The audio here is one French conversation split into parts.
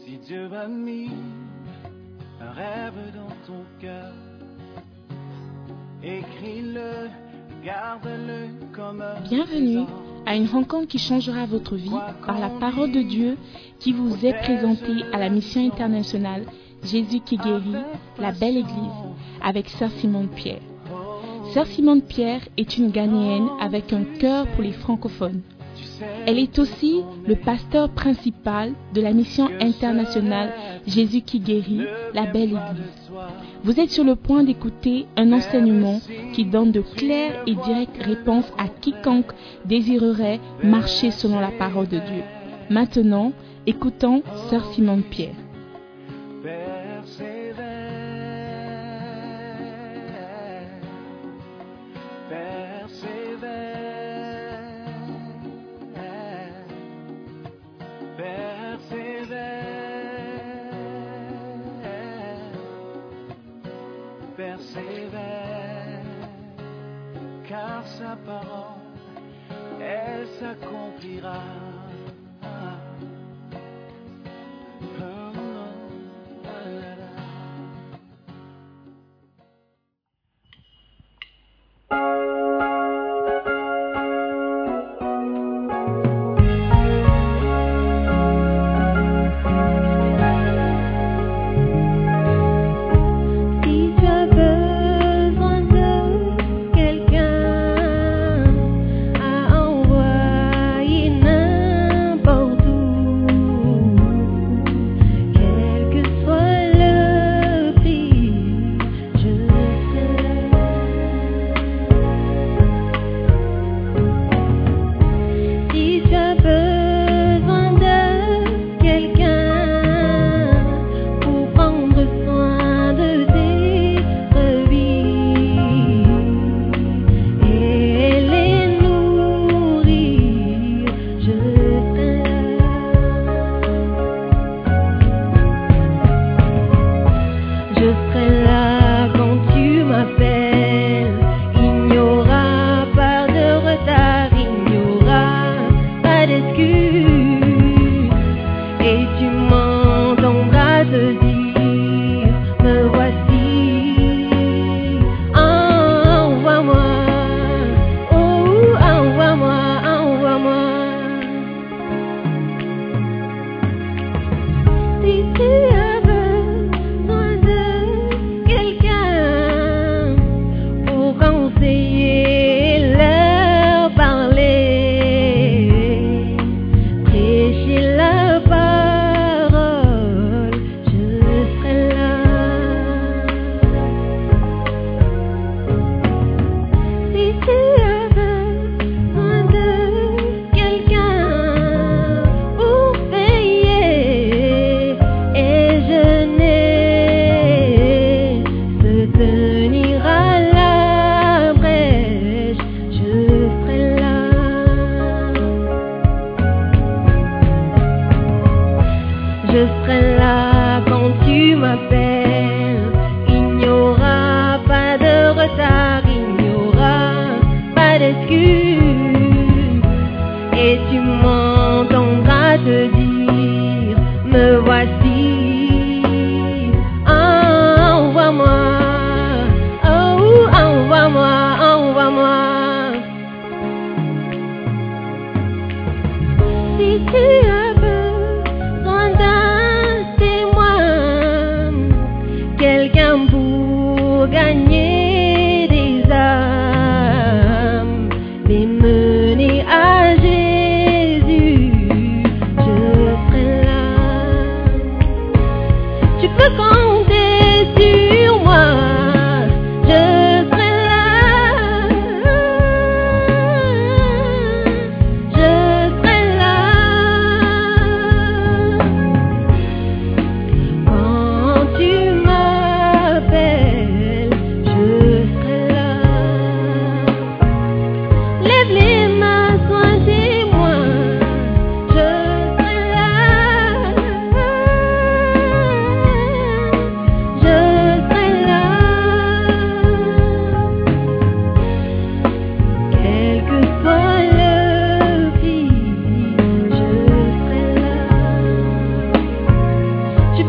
Si Dieu a mis un rêve dans ton cœur, écris-le, garde-le comme un Bienvenue à une rencontre qui changera votre vie par la parole de Dieu qui vous est présentée à la mission internationale Jésus qui guérit, la belle église, avec Sœur Simone Pierre. Sœur Simone Pierre est une Ghanéenne avec un cœur pour les francophones. Elle est aussi le pasteur principal de la mission internationale Jésus qui guérit, la belle église. Vous êtes sur le point d'écouter un enseignement qui donne de claires et directes réponses à quiconque désirerait marcher selon la parole de Dieu. Maintenant, écoutons Sœur Simone Pierre. Persévère, car sa parole, elle s'accomplira.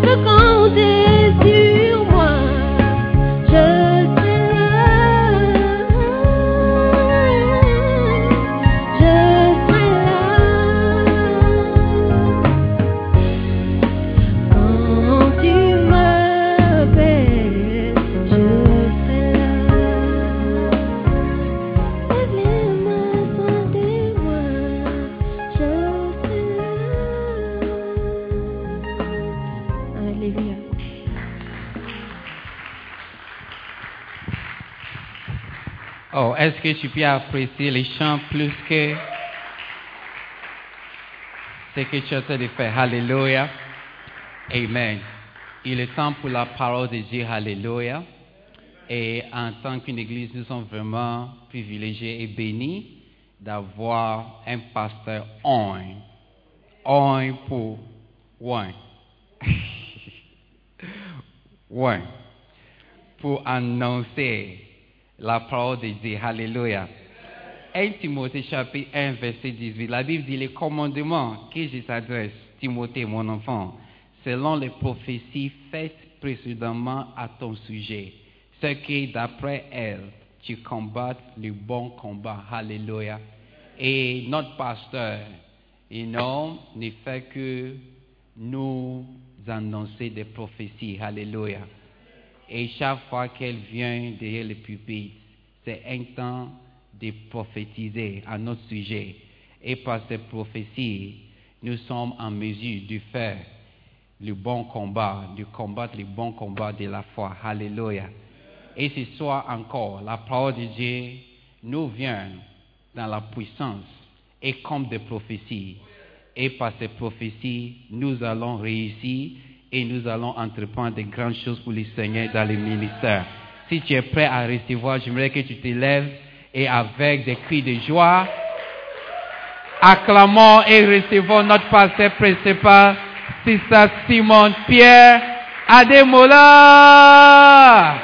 peux compter sur moi. Je serai là. Je serai là. Quand tu m'appelles, je serai là. Lève les mains, sois témoin, je serai là. Alléluia. Oh, est-ce que tu peux apprécier les chants plus que ce que tu as en train de faire? Alléluia. Amen. Il est temps pour la parole de Dieu. Alléluia. Et en tant qu'une église, nous sommes vraiment privilégiés et bénis d'avoir un pasteur un pour one. One. Pour annoncer la parole de Dieu. Alléluia. 1 Timothée chapitre 1 verset 18. La Bible dit les commandements que je t'adresse, Timothée mon enfant, selon les prophéties faites précédemment à ton sujet, ce que d'après elles, tu combattes le bon combat. Alléluia. Et notre pasteur, ne fait que nous annoncer des prophéties. Alléluia. Et chaque fois qu'elle vient derrière le pupitre, c'est un temps de prophétiser à notre sujet. Et par ces prophéties, nous sommes en mesure de faire le bon combat, de combattre le bon combat de la foi. Alléluia. Et ce soir encore, la parole de Dieu nous vient dans la puissance et comme des prophéties. Et par ces prophéties, nous allons réussir et nous allons entreprendre de grandes choses pour le Seigneur dans le ministère. Si tu es prêt à recevoir, j'aimerais que tu te lèves et avec des cris de joie, acclamons et recevons notre pasteur principal, Sister Simone Pierre Ademola.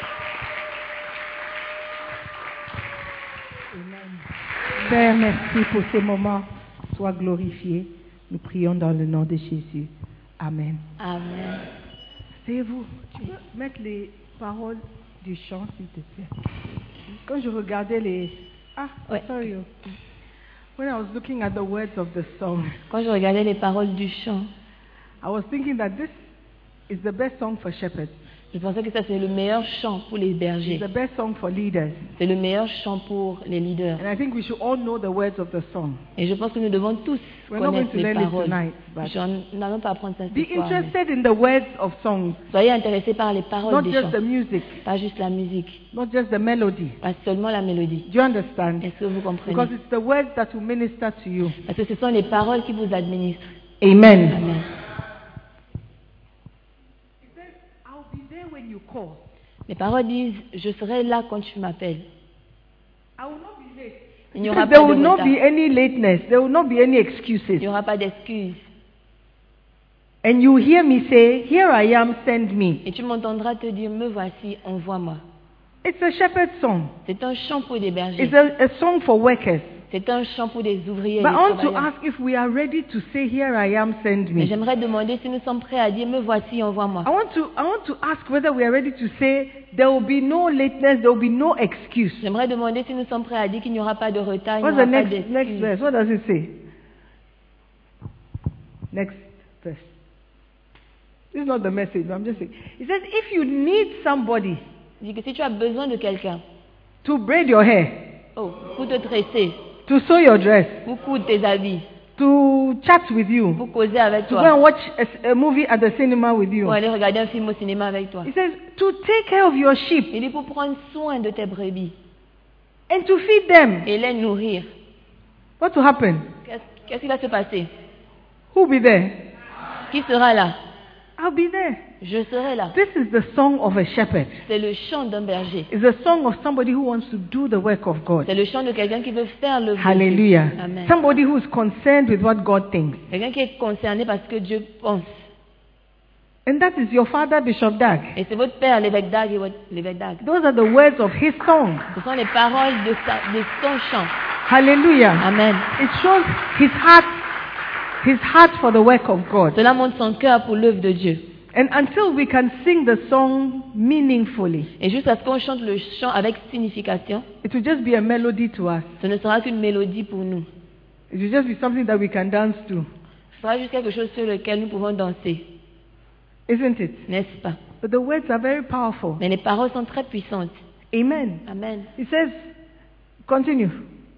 Père, merci pour ces moments. Sois glorifié. Nous prions dans le nom de Jésus. Amen. Amen. C'est vous. Tu peux mettre les paroles du chant, s'il te plaît. Quand je regardais les... Ouais. Sorry. When I was looking at the words of the song, Quand je regardais les paroles du chant, I was thinking that this is the best song for shepherds. je pensais que ça c'est le meilleur chant pour les bergers. It's the best song for leaders. C'est le meilleur chant pour les leaders. And I think we should all know the words of the song. Et je pense que nous devons tous We're not connaître going to les learn it paroles. tonight, but Nous n'allons pas apprendre ça be ce soir. mais interested in the words of songs, Soyez intéressés par les paroles not des just chants, the music, pas juste la musique, not just the melody. pas seulement la mélodie. Do you understand? Est-ce que vous comprenez? Because it's the words that will minister to you. Parce que ce sont les paroles qui vous administrent. Amen. Amen. It says, I'll be there when you call. Les paroles disent, je serai là quand tu m'appelles. I will not be late. Il n'y aura There pas de will not retard. be any lateness. There will not be any Il excuses. n'y aura pas d'excuses. And you hear me say, Here I am, send me. Et tu m'entendras te dire, me voici, envoie-moi. It's a shepherd song. C'est un chant pour des bergers. It's a song for workers. C'est un chant pour des ouvriers et But des I want to travailleurs. ask if we are ready to say, Here I am, send Mais me. j'aimerais demander si nous sommes prêts à dire, me voici, envoie-moi. I want to ask whether we are ready to say, There will be no lateness, there will be no excuse. J'aimerais demander si nous sommes prêts à dire qu'il n'y aura pas de retard, il n'y What's the aura pas next d'excuses. verse? What does it say? Next verse. This is not the message, but I'm just saying. It says, if you need somebody Il dit que si tu as besoin de quelqu'un, to braid your hair, pour te tresser, to sew your dress, pour coudre tes habits, to chat with you, pour causer avec to go toi, and watch a movie at the cinema with you. pour aller regarder un film au cinéma avec toi. It says, to take care of your sheep Il dit pour prendre soin de tes brebis and to feed them. et les nourrir. What will happen? Qu'est-ce qui va se passer? Who will be there? Qui sera là? I'll be there. Je serai là. This is the song of a shepherd. C'est le chant d'un berger. It's a song of somebody who wants to do the work of God. C'est le chant de quelqu'un qui veut faire le Hallelujah. Amen. Somebody who is concerned with what God thinks. Quelqu'un qui est concerné parce que Dieu pense. And that is your father, Bishop Dag. Et c'est votre père, l'évêque Dag et l'évêque Dag. Those are the words of his song. Ce sont les paroles de son chant. Hallelujah. Amen. It shows his heart for the work of God. Cela montre son cœur pour l'œuvre de Dieu. And until we can sing the song meaningfully, Et jusqu'à ce qu'on chante le chant avec signification, it will just be a melody to us. ce ne sera qu'une mélodie pour nous. It will just be something that we can dance to, Ce sera juste quelque chose sur lequel nous pouvons danser, isn't it? n'est-ce pas? But the words are very powerful. Mais les paroles sont très puissantes. Amen. Amen. It says, continue.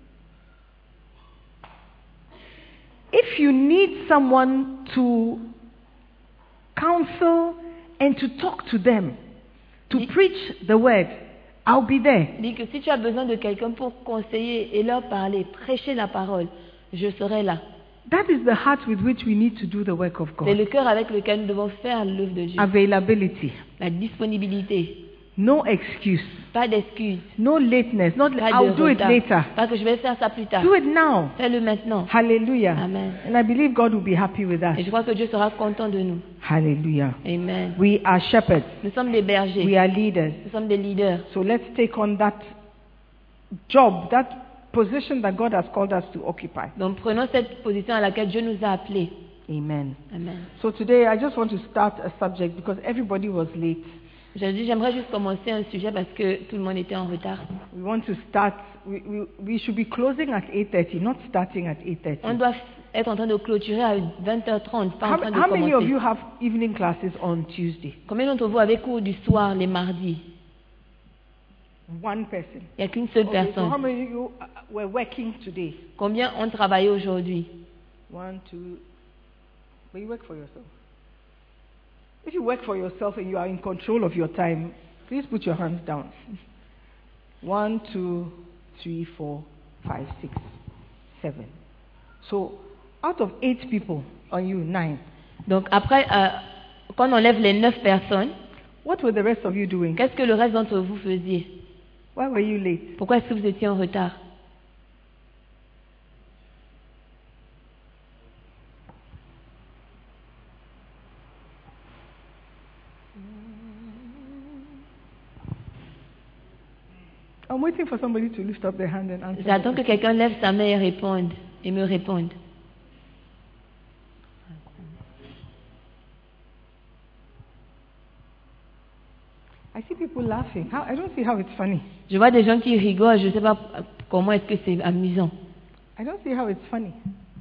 If you need someone to counsel and to talk to them, to preach the word, I'll be there. Dis que si tu as besoin de quelqu'un pour conseiller et leur parler, prêcher la parole, je serai là. That is the heart with which we need to do the work of C'est God. le cœur avec lequel nous devons faire l'œuvre de Dieu. Availability. La disponibilité. No excuse. Pas d'excuses. No lateness. Not Pas I'll de do it retard. later. Pas que je vais faire ça plus tard. Do it now. Fais-le maintenant. Hallelujah. Amen. And I believe God will be happy with us. Et je crois que Dieu sera content de nous. Hallelujah. Amen. We are shepherds. Nous sommes des bergers. We are leaders. Nous sommes des leaders. So let's take on that job, that position that God has called us to occupy. Donc prenons cette position à laquelle Dieu nous a appelés. Amen. Amen. So today I just want to start a subject because everybody was late. J'aimerais juste commencer un sujet parce que tout le monde était en retard. We want to start, we should be closing at 8:30, not starting at On 8:30. doit être en train de clôturer à 20h30, pas en train de How many of commencer. you have evening classes on Tuesday? Combien d'entre vous avez cours du soir les mardis? One person. Il n'y a qu'une seule Okay, so how personne. many of you were working today? Combien ont travaillé aujourd'hui? 1, 2, but you work for yourself. If you work for yourself and you are in control of your time, please put your hands down. 1, 2, 3, 4, 5, 6, 7. So, out of 8 people on you, 9. Donc après, quand on enlève les 9 personnes, What were the rest of you doing? qu'est-ce que le reste d'entre vous faisiez? Why were you late? Pourquoi est-ce que vous étiez en retard? I'm waiting for somebody to lift up their hand and answer. J'attends que quelqu'un lève sa main et me réponde. I see people laughing. I don't see how it's funny. Je vois des gens qui rigolent, je ne sais pas comment est-ce que c'est amusant. I don't see how it's funny.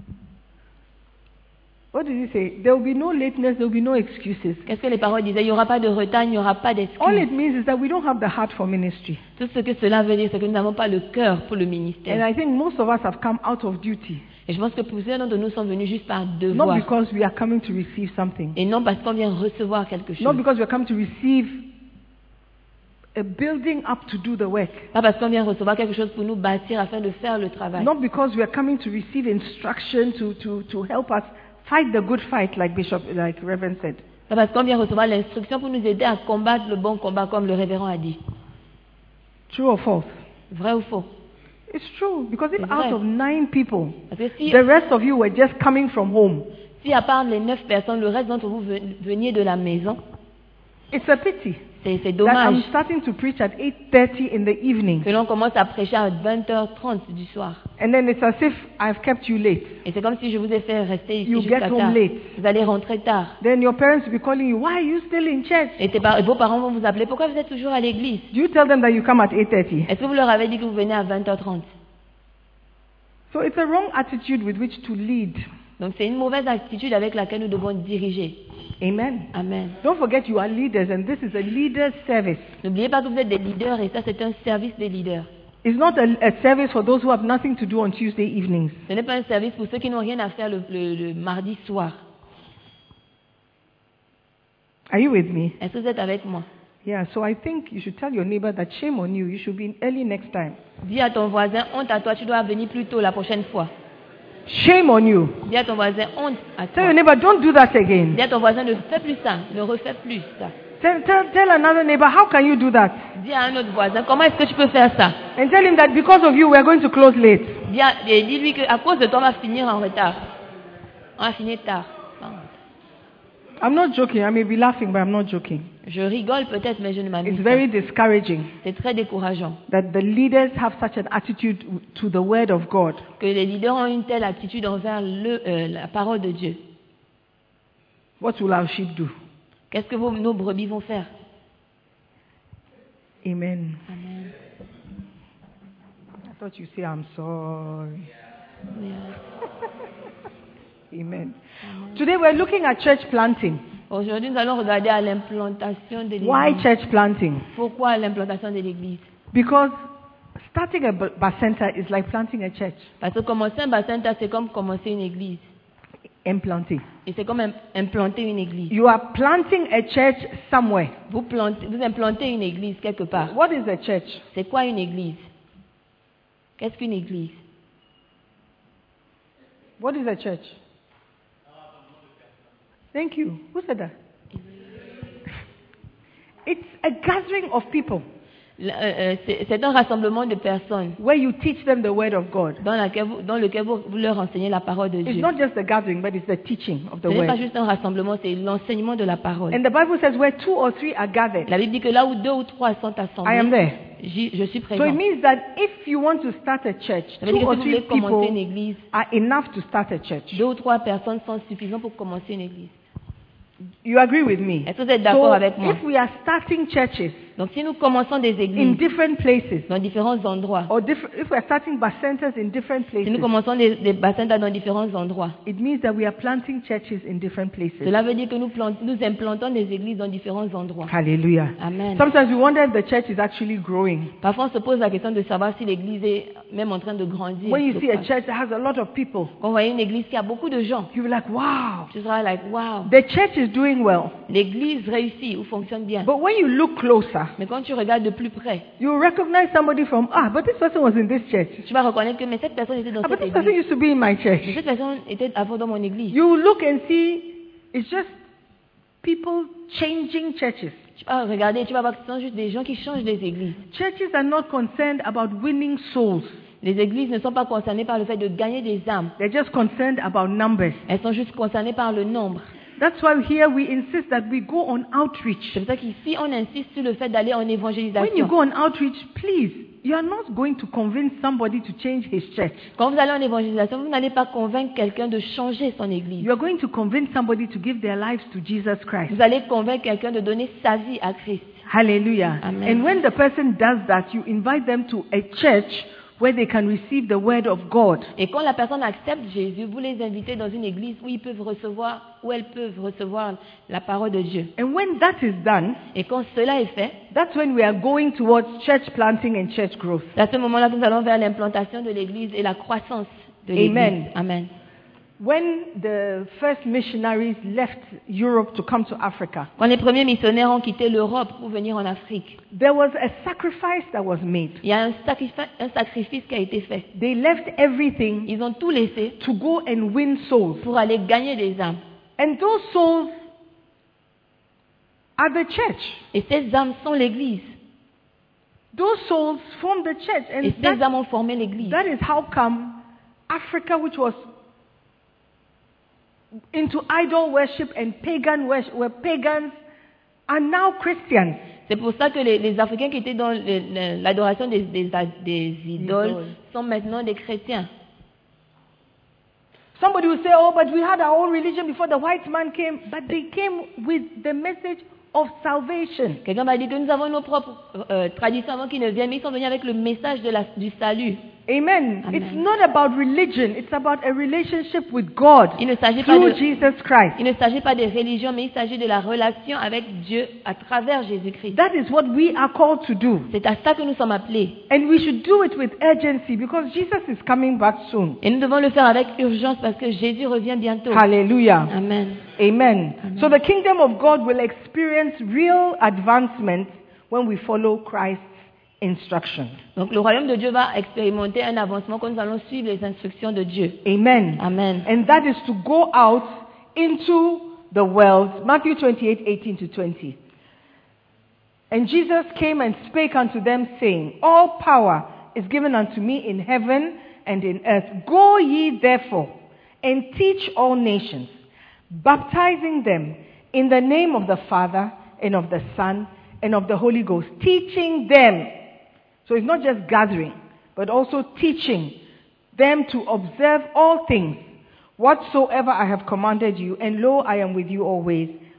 What did he say? There will be no lateness, there will be no excuses. Qu'est-ce que les paroles disaient? Il n'y aura pas de retard, il n'y aura pas All it d'excuses. means is that we don't have the heart for ministry. Tout ce que cela veut dire, c'est que nous n'avons pas le cœur pour le And ministère. I think most of us have come out of duty, Et je pense que plusieurs d'entre nous sont venus juste par not devoir. because we are coming to receive something, Et non parce qu'on vient recevoir quelque not chose. because we are coming to receive a building up to do the work, Pas parce qu'on vient recevoir quelque chose pour nous bâtir afin de faire le travail. not because we are coming to receive instruction to help us fight the good fight, like Reverend said. Pas parce qu'on vient recevoir l'instruction pour nous aider à combattre le bon combat, comme le révérend a dit. True or false? Vrai ou faux? It's true, because if C'est vrai. out of 9 people, Parce que si, the rest of you were just coming from home, si à part les 9 personnes, le reste d'entre vous veniez de la maison, it's a pity c'est that I'm dommage starting to preach at 8:30 in the evening, que l'on commence à prêcher à 20h30 du soir. and then it's as if I've kept you late. Et c'est comme si je vous ai fait rester ici You jusqu'à get home tard. late. Vous allez rentrer tard. Then your parents will be calling you, why are you still in church? Et vos parents vont vous appeler. Pourquoi vous êtes toujours à l'église? Do you tell them that you come at 8:30? Est-ce que vous leur avez dit que vous venez à 20h30? So it's a wrong attitude with which to lead. Donc c'est une mauvaise attitude avec laquelle nous devons diriger. Amen. Amen. Don't forget you are leaders, and this is a leader's service. N'oubliez pas que vous êtes des leaders et ça c'est un service des leaders. It's not a service for those who have nothing to do on Tuesday evenings. Ce n'est pas un service pour ceux qui n'ont rien à faire le mardi soir. Are you with me? Est-ce que vous êtes avec moi? Yeah, so I think you should tell your neighbor that shame on you. You should be early next time. Dis à ton voisin, honte à toi, tu dois venir plus tôt la prochaine fois. Shame on you. Dis à ton voisin, honte à Tell toi. your neighbor, don't do that again. Dis à ton voisin, ne fais plus ça, ne refais plus ça. Tell another neighbor, how can you do that? Dis à un autre voisin, comment est-ce que tu peux faire ça? And tell him that because of you, we are going to close late. Dis-lui qu'à cause de toi, on va finir en retard. On va finir tard. I'm not joking. I may be laughing, but I'm not joking. Je rigole peut-être, mais je ne m'amuse It's pas. very discouraging C'est très décourageant that the leaders have such an attitude to the word of God. que les leaders ont une telle attitude envers la parole de Dieu. What will our sheep do? Qu'est-ce que nos brebis vont faire? Amen. Amen. I thought you say, I'm sorry. Yes. Amen. Today we're looking at church planting. Aujourd'hui, nous allons regarder à l'implantation de l'église. Why church planting? Pourquoi l'implantation de l'église? Because starting a bacenta is like planting a church. Parce que commencer un bacenta, c'est comme commencer une église. Implanting. Et c'est comme implanter une église. You are planting a church somewhere. Vous implantez une église quelque part. What is a church? C'est quoi une église? Qu'est-ce qu'une église? What is a church? Thank you. Who said that? It's a gathering of people C'est un rassemblement de personnes where you teach them the word of God. dans lequel vous leur enseignez la parole de It's Dieu. not just a gathering, but it's the teaching of the Ce n'est pas word. juste un rassemblement, c'est l'enseignement de la parole. And the Bible says where 2 or 3 are gathered, La Bible dit que là où 2 ou 3 sont I am assemblés, there. je suis So présent. it means that if you want to start a church, Ça veut 2 dire que or si vous 3 voulez commencer une people église, are enough to start a church. 2 ou 3 personnes sont suffisantes pour commencer une église. You agree with me? Est-ce que vous êtes d'accord So avec moi? if we are starting churches Donc si nous commençons des in églises different places, dans différents endroits, or if we are starting bacentas in different si nous places, commençons des bassins dans différents endroits, it means that we are planting churches in different places. cela veut dire que nous implantons des églises dans différents endroits. Hallelujah. Amen. Sometimes we wonder if the church is actually growing. Parfois, on se pose la question de savoir si l'église est même en train de grandir. When you see a church that has a lot of people, Quand vous voyez une église qui a beaucoup de gens, you'll be like, wow, tu seras like, wow, the church is doing well. l'église réussit ou fonctionne bien. But when you look closer, Mais quand tu regardes de plus près, you recognize somebody from, but this person was in this church. tu vas reconnaître que mais cette personne était dans But cette this person église. used to be in my Mais church. cette personne était avant dans mon église. You look and see, it's just people changing churches. Tu vas regarder, tu vas voir que ce sont juste des gens qui changent les églises. Churches are not concerned about winning souls. Les églises ne sont pas concernées par le fait de gagner des âmes. They're just concerned about numbers. Elles sont juste concernées par le nombre. That's why here we insist that we go on outreach. C'est pour ça qu'ici, on insiste sur le fait d'aller en When you évangélisation. go on outreach, please, you are not going to convince somebody to change his church. Quand vous allez en évangélisation, vous n'allez pas convaincre quelqu'un de changer son église. You are going to convince somebody to give their lives to Jesus Christ. Vous allez convaincre quelqu'un de donner sa vie à Christ. Hallelujah. Amen. And when the person does that, you invite them to a church where they can receive the word of God. Et quand la personne accepte Jésus, vous les invitez dans une église où ils peuvent recevoir, où elles peuvent recevoir la parole de Dieu. And when that is done, Et quand cela est fait, that's when we are going towards church planting and church growth. c'est à ce moment-là que nous allons vers l'implantation de l'église et la croissance de l'église. Amen. Amen. When the first missionaries left Europe to come to Africa, Quand les premiers missionnaires ont quitté l'Europe pour venir en Afrique, there was a sacrifice that was made. il y a un sacrifice qui a été fait. They left everything Ils ont tout laissé to go and win souls. pour aller gagner des âmes. And those souls are the church. Et ces âmes sont l'église. Those souls form the church. Et And ces âmes ont formé l'église. that is how come Africa, which was into idol worship and pagan worship, where pagans are now Christians. C'est pour ça que les Africains qui étaient dans l'adoration des idoles sont maintenant des chrétiens. Somebody will say, oh, but we had our own religion before the white man came. But they came with the message of salvation. Quelqu'un m'a dit que nous avons nos propres traditions avant qu'ils ne viennent, mais ils sont venus avec le message du salut. Amen. Amen. It's not about religion. It's about a relationship with God Il ne s'agit pas through de, Jesus Christ. il ne s'agit pas de religion, mais il s'agit de la relation avec Dieu à travers Jésus-Christ. That is what we are called to do. C'est à ça que nous sommes appelés. And we should do it with urgency because Jesus is coming back soon. Et nous devons le faire avec urgence parce que Jésus revient bientôt. Hallelujah. Amen. Amen. So the kingdom of God will experience real advancement when we follow Christ's instructions. Donc le royaume de Dieu va expérimenter un avancement quand nous allons suivre les instructions de Dieu. Amen. Amen. And that is to go out into the world. Matthew 28:18-20. And Jesus came and spake unto them, saying, all power is given unto me in heaven and in earth. Go ye therefore and teach all nations, baptizing them in the name of the Father and of the Son and of the Holy Ghost, teaching them. So it's not just gathering, but also teaching them to observe all things whatsoever I have commanded you. And lo, I am with you always,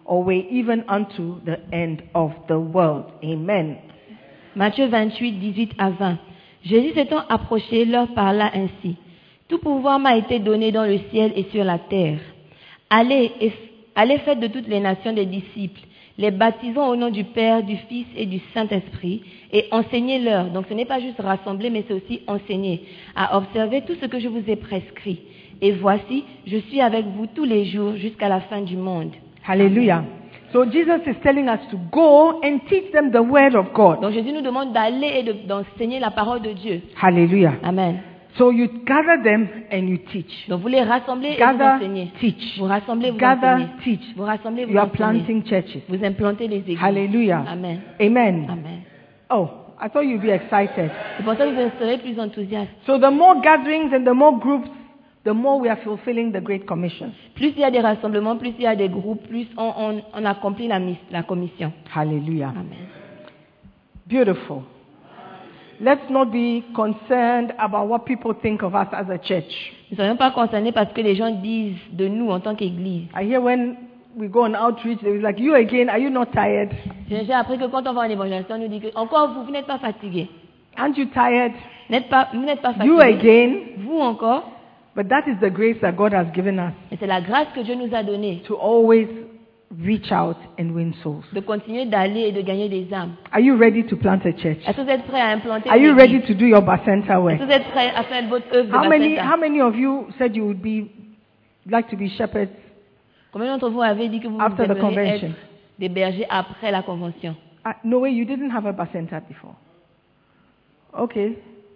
always, even unto the end of the world. Amen. Matthieu 28, 18 à 20. Jésus s'étant approché, leur parla ainsi. Tout pouvoir m'a été donné dans le ciel et sur la terre. Allez, faites de toutes les nations des disciples, les baptisons au nom du Père, du Fils et du Saint-Esprit, et enseignez-leur. Donc ce n'est pas juste rassembler, mais c'est aussi enseigner, à observer tout ce que je vous ai prescrit. Et voici, je suis avec vous tous les jours jusqu'à la fin du monde. Hallelujah. So Jesus is telling us to go and teach them the word of God. Donc Jésus nous demande d'aller et d'enseigner la parole de Dieu. Hallelujah. Amen. So you gather them and you teach. Donc vous les rassemblez et vous Gather, enseignez. teach. Vous rassemblez, vous Gather, enseignez. teach. Vous rassemblez, vous You are enseignez. planting churches. Vous implantez les églises. Hallelujah. Amen. Amen. Amen. Oh, I thought you'd be excited. C'est pour ça que vous serez plus enthousiastes. So the more gatherings and the more groups, the more we are fulfilling the Great Commission. Plus il y a des rassemblements, plus il y a des groupes, plus on accomplit la commission. Hallelujah. Amen. Beautiful. Let's not be concerned about what people think of us as a church. Ne soyons pas concernés parce que les gens disent de nous en tant qu'Église. I hear when we go on outreach, they was like, you again, are you not tired? J'ai appris que quand on va en évangélisation, on nous dit que encore vous n'êtes pas fatigués. Aren't you tired? Vous n'êtes pas You fatigués. again? Vous encore. But that is the grace that God has given us Et c'est la grâce que Dieu nous a donnée to always reach out and win souls. de continuer d'aller et de gagner des âmes. Are you ready to plant a church? Est-ce que vous êtes prêts à implanter Are une you église? ready to do your Bacenta Est-ce work? que vous êtes prêts à faire votre œuvre de How Bacenta? many of you said you would like to be shepherds Combien d'entre vous avez dit que vous after the aimeriez convention? être des bergers après la convention? No way, you didn't have a Bacenta before. Okay.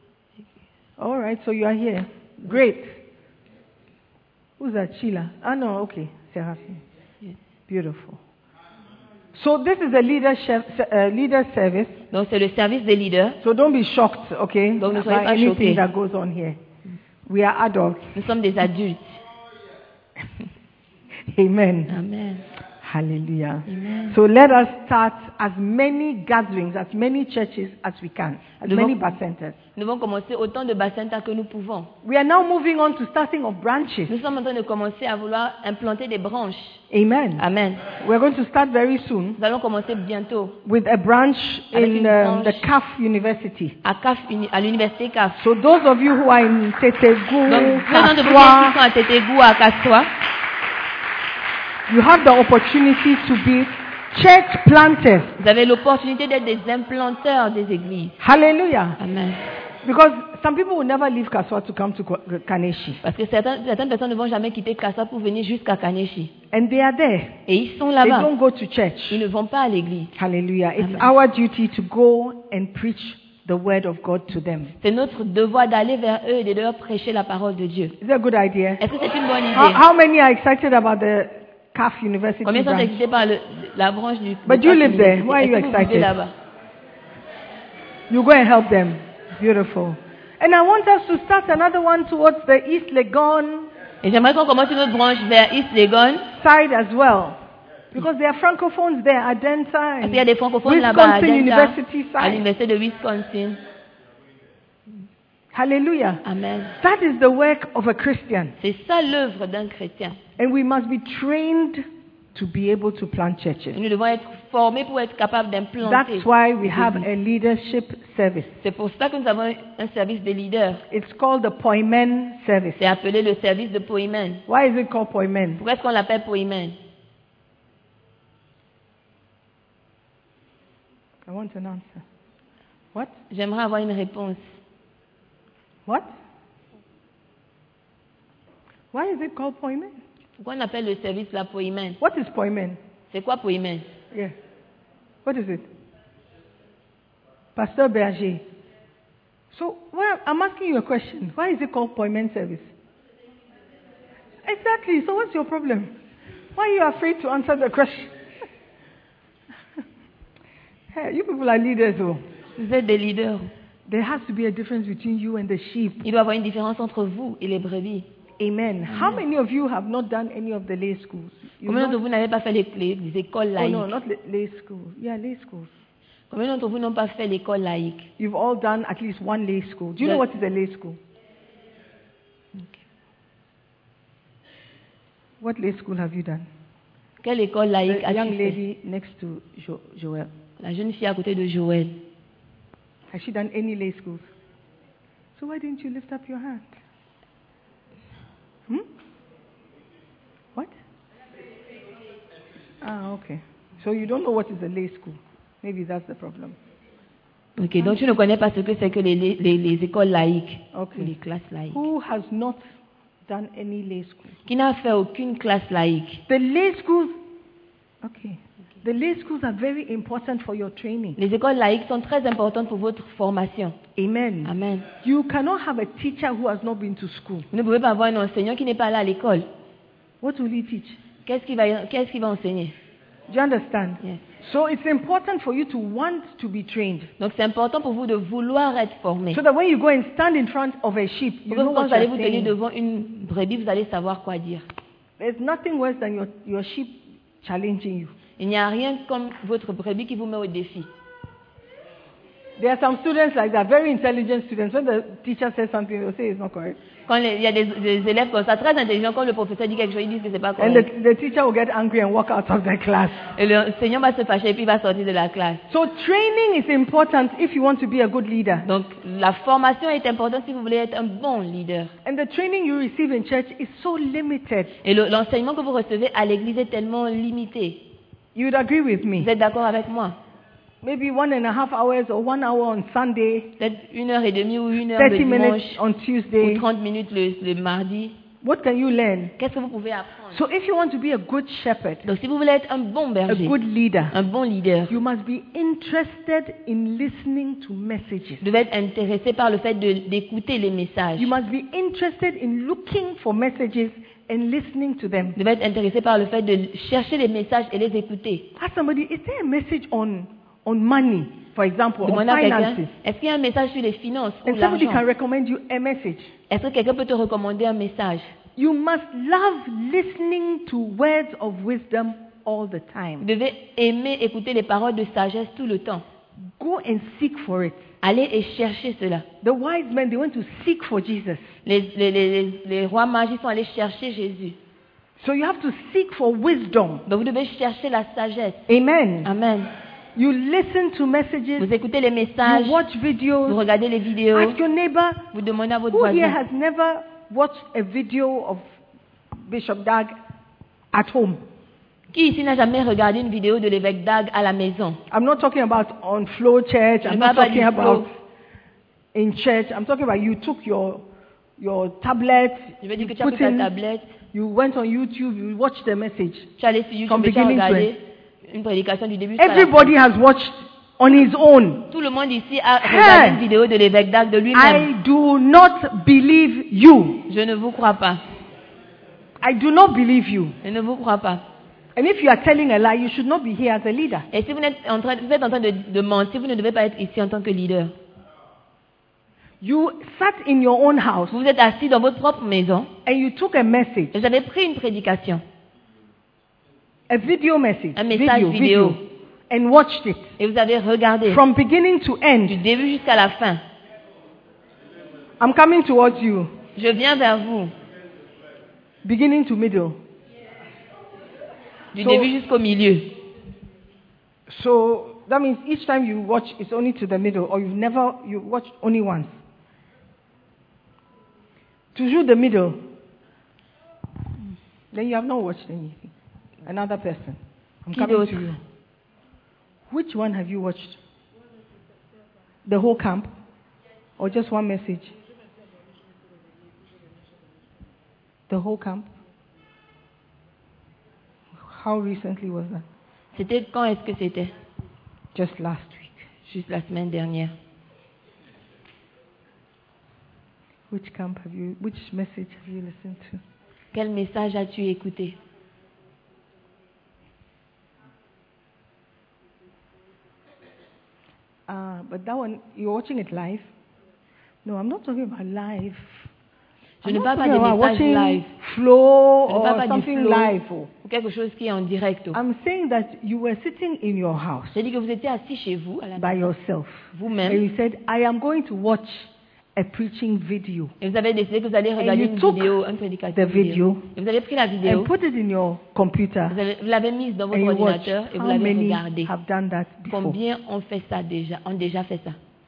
All right, so you are here. Great. Who's that? Sheila? No, okay. Seraphim. Yes. Beautiful. So this is a leader service. Donc c'est le service des leaders. So don't be shocked, okay, Donc ne by soyez pas anything choqués. that goes on here. We are adults. Nous sommes des adultes. Amen. Amen. Hallelujah. Amen. So let us start as many gatherings, as many churches as we can, as Nous many vont- Bacentas. Nous allons commencer autant de Bacenta que nous pouvons. We are now moving on to starting of branches. Nous sommes en train de commencer à vouloir implanter des branches. Amen. Amen. We're going to start very soon Nous allons commencer bientôt with a branch Avec in une branche. the CAF University. à l'université CAF. So those of you who are in Donc, Tetegu, ceux d'entre vous qui Kaswa, sont à Tétégou, à Kassoua, you have the opportunity to be church planters. vous avez l'opportunité d'être des implanteurs des églises. Hallelujah. Amen. Because some people will never leave Kaswa to come to Kaneshi. Parce que certaines personnes ne vont jamais quitter Kassoua pour venir jusqu'à Kaneshi. And they are there. Et ils sont They là-bas. don't go to church. Ils ne vont pas à l'église. Hallelujah. It's Amen. our duty to go and preach the word of God to them. C'est notre devoir d'aller vers eux et de leur prêcher la parole de Dieu. Is that a good idea? Est-ce que c'est une bonne idée? How many are excited about the CAF University Combien sont branch? excités par la branche du But du you CAF live there. University? Why are Est-ce you que vous excited? vivez là-bas? You go and help them. Beautiful. And I want us to start another one towards the East Legon Et j'aimerais qu'on commence une autre branche vers East Legon. side as well. Because there are francophones there, Adenta Parce and qu'il y a des francophones là-bas à Wisconsin Delta, University à side. l'université de Wisconsin. Hallelujah. Amen. That is the work of a Christian. C'est ça l'œuvre d'un chrétien. And we must be trained to be able to plant Et churches. nous devons être formés pour être capables d'implanter. That's why we des have églises. a leadership service. C'est pour ça que nous avons un service des leaders. It's called the Poimen service. C'est appelé le service de Poimen. Why is it called Poimen? Pourquoi est-ce qu'on l'appelle Poimen? I want an answer. What? J'aimerais avoir une réponse. What? Why is it called Poimen? Pourquoi on appelle le service la Poimen? What is Poimen? C'est quoi Poimen? Yeah. What is it? Pastor Berger. So, well, I'm asking you a question. Why is it called Poimen service? Exactly. So what's your problem? Why are you afraid to answer the question? Hey, you people are leaders, though. Vous êtes des leaders. There has to be a difference between you and the sheep. Il doit y avoir une différence entre vous et les brebis. Amen. How many of you have not done any of the lay schools? You've Combien d'entre not- vous n'avez pas fait les écoles Oh laïques? no, not lay schools. Yeah, lay schools. Combien d'entre vous n'ont pas fait l'école laïque? You've all done at least one lay school. Do you know what is a lay school? What lay school have you done? Quelle école laïque The as-tu young fait? lady next to Joel. La jeune fille à côté de Joël. Has she done any lay schools? So why didn't you lift up your hand? What? Ah, okay. So you don't know what is a lay school. Maybe that's the problem. Ok, donc tu ne connais pas ce que c'est que les écoles laïques, Okay. ou les classes laïques. Who has not done any lay school? Qui n'a fait aucune classe laïque. The lay schools, okay. The lay schools are very important for your training. Les écoles laïques sont très importantes pour votre formation. Amen. Amen. You cannot have a teacher who has not been to school. Vous ne pouvez pas avoir un enseignant qui n'est pas allé à l'école. What will he teach? Qu'est-ce qu'il va enseigner? Do you understand? Yes. So it's important for you to want to be trained. Donc c'est important pour vous de vouloir être formé. So that when you go and stand in front of a sheep, you Pour que know quand what vous allez you're vous tenir saying. devant une brebis, vous allez savoir quoi dire. There's nothing worse than your sheep challenging you. Il n'y a rien comme votre brebis qui vous met au défi. There are some students like that, very intelligent students. When the teacher says something, they'll say it's not correct. Quand il y a des élèves comme ça, très intelligents, quand le professeur dit quelque chose, ils disent que c'est pas And correct. the teacher will get angry and walk out of the class. Et l'enseignant va se fâcher et puis il va sortir de la classe. So training is important if you want to be a good leader. Donc la formation est importante si vous voulez être un bon leader. And the training you receive in church is so limited. Et l'enseignement que vous recevez à l'église est tellement limité. You would agree with Vous me? êtes d'accord avec moi? Maybe 1.5 hours or 1 hour on Sunday, Peut-être 1h30 ou 1 heure le 30 minutes dimanche on ou Tuesday. 30 minutes le mardi. What can you learn? Qu'est-ce que vous pouvez apprendre? So if you want to be a good shepherd, Donc si vous voulez être un bon a berger, good leader, un bon leader, you must be interested in listening to messages. vous devez être intéressé par le fait d'écouter les messages. You must be interested in looking for messages and listening to them. Vous devez être intéressé par le fait de chercher les messages et les écouter. Ask somebody, is there a message on money, for example, on Demandez à quelqu'un, finances? est-ce qu'il y a un message sur les finances ou And somebody l'argent? can recommend you a message. Est-ce que quelqu'un peut te recommander un message? You must love listening to words of wisdom all the Vous time. devez aimer écouter les paroles de sagesse tout le temps. Go and seek for it. Allez et cherchez cela. The wise men, they went to seek for Jesus. Les rois mages ils sont allés chercher Jésus. So you have to seek for wisdom. Donc vous devez chercher la sagesse. Amen. Amen. You listen to messages. Vous écoutez les messages, You watch vous videos. regardez les vidéos, Ask your neighbor, vous demandez à votre who here voisin. has never watched a video of Bishop Dag at home? Qui ici n'a jamais regardé une vidéo de l'évêque Dag à la maison? I'm not talking about on Flow Church. Je I'm ne not parle pas talking du about Flow. in church. I'm talking about you took your tablet, Je veux dire que you tu as put pris ta in, tablette, you went on YouTube, you watched the message. tu es allé sur YouTube From et tu as beginning to regardé une prédication du début jusqu'à la fin. Everybody has watched on his own. Tout le monde ici a regardé une vidéo de l'évêque Dag de lui-même. I do not believe you. Je ne vous crois pas. I do not believe you. Je ne vous crois pas. And if you are telling a lie, you should not be here as a leader. Et si vous êtes en train de mentir, vous ne devez pas être ici en tant que leader. You sat in your own house Vous êtes assis dans votre propre maison and you took a message, et vous avez pris une prédication, a video message, un message vidéo, and watched it et vous avez regardé from beginning to du end. début jusqu'à la fin. I'm coming towards you, Je viens vers vous, beginning to middle. du So- début jusqu'au milieu. So that means each time you watch, it's only to the middle, or you watch only once. Toujours the middle. Then you have not watched anything. Another person. I'm Qui coming d'autre? to you. Which one have you watched? The whole camp? Or just one message? The whole camp? How recently was that? C'était quand est-ce que c'était? Just last week. Juste la semaine dernière. Which message have you listened to? Quel message as-tu écouté? But that one, you're watching it live? No, I'm not talking about live. Je I'm ne not parle pas talking des about messages watching live. Flow Je ne parle or pas du something flow live. ou quelque chose qui est en direct. I'm saying that you were sitting in your house J'ai dit que vous étiez assis chez vous, à la by maison, yourself. And vous-même, you said, I am going to watch a preaching video Et vous avez décidé que vous allez regarder you une took vidéo, un the prédicateur video Et vous avez pris la vidéo, and put it in your computer vous l'avez mise dans votre and you watch. ordinateur et vous How l'avez many regardée. have done that before? Combien ont fait ça déjà, ont déjà fait ça?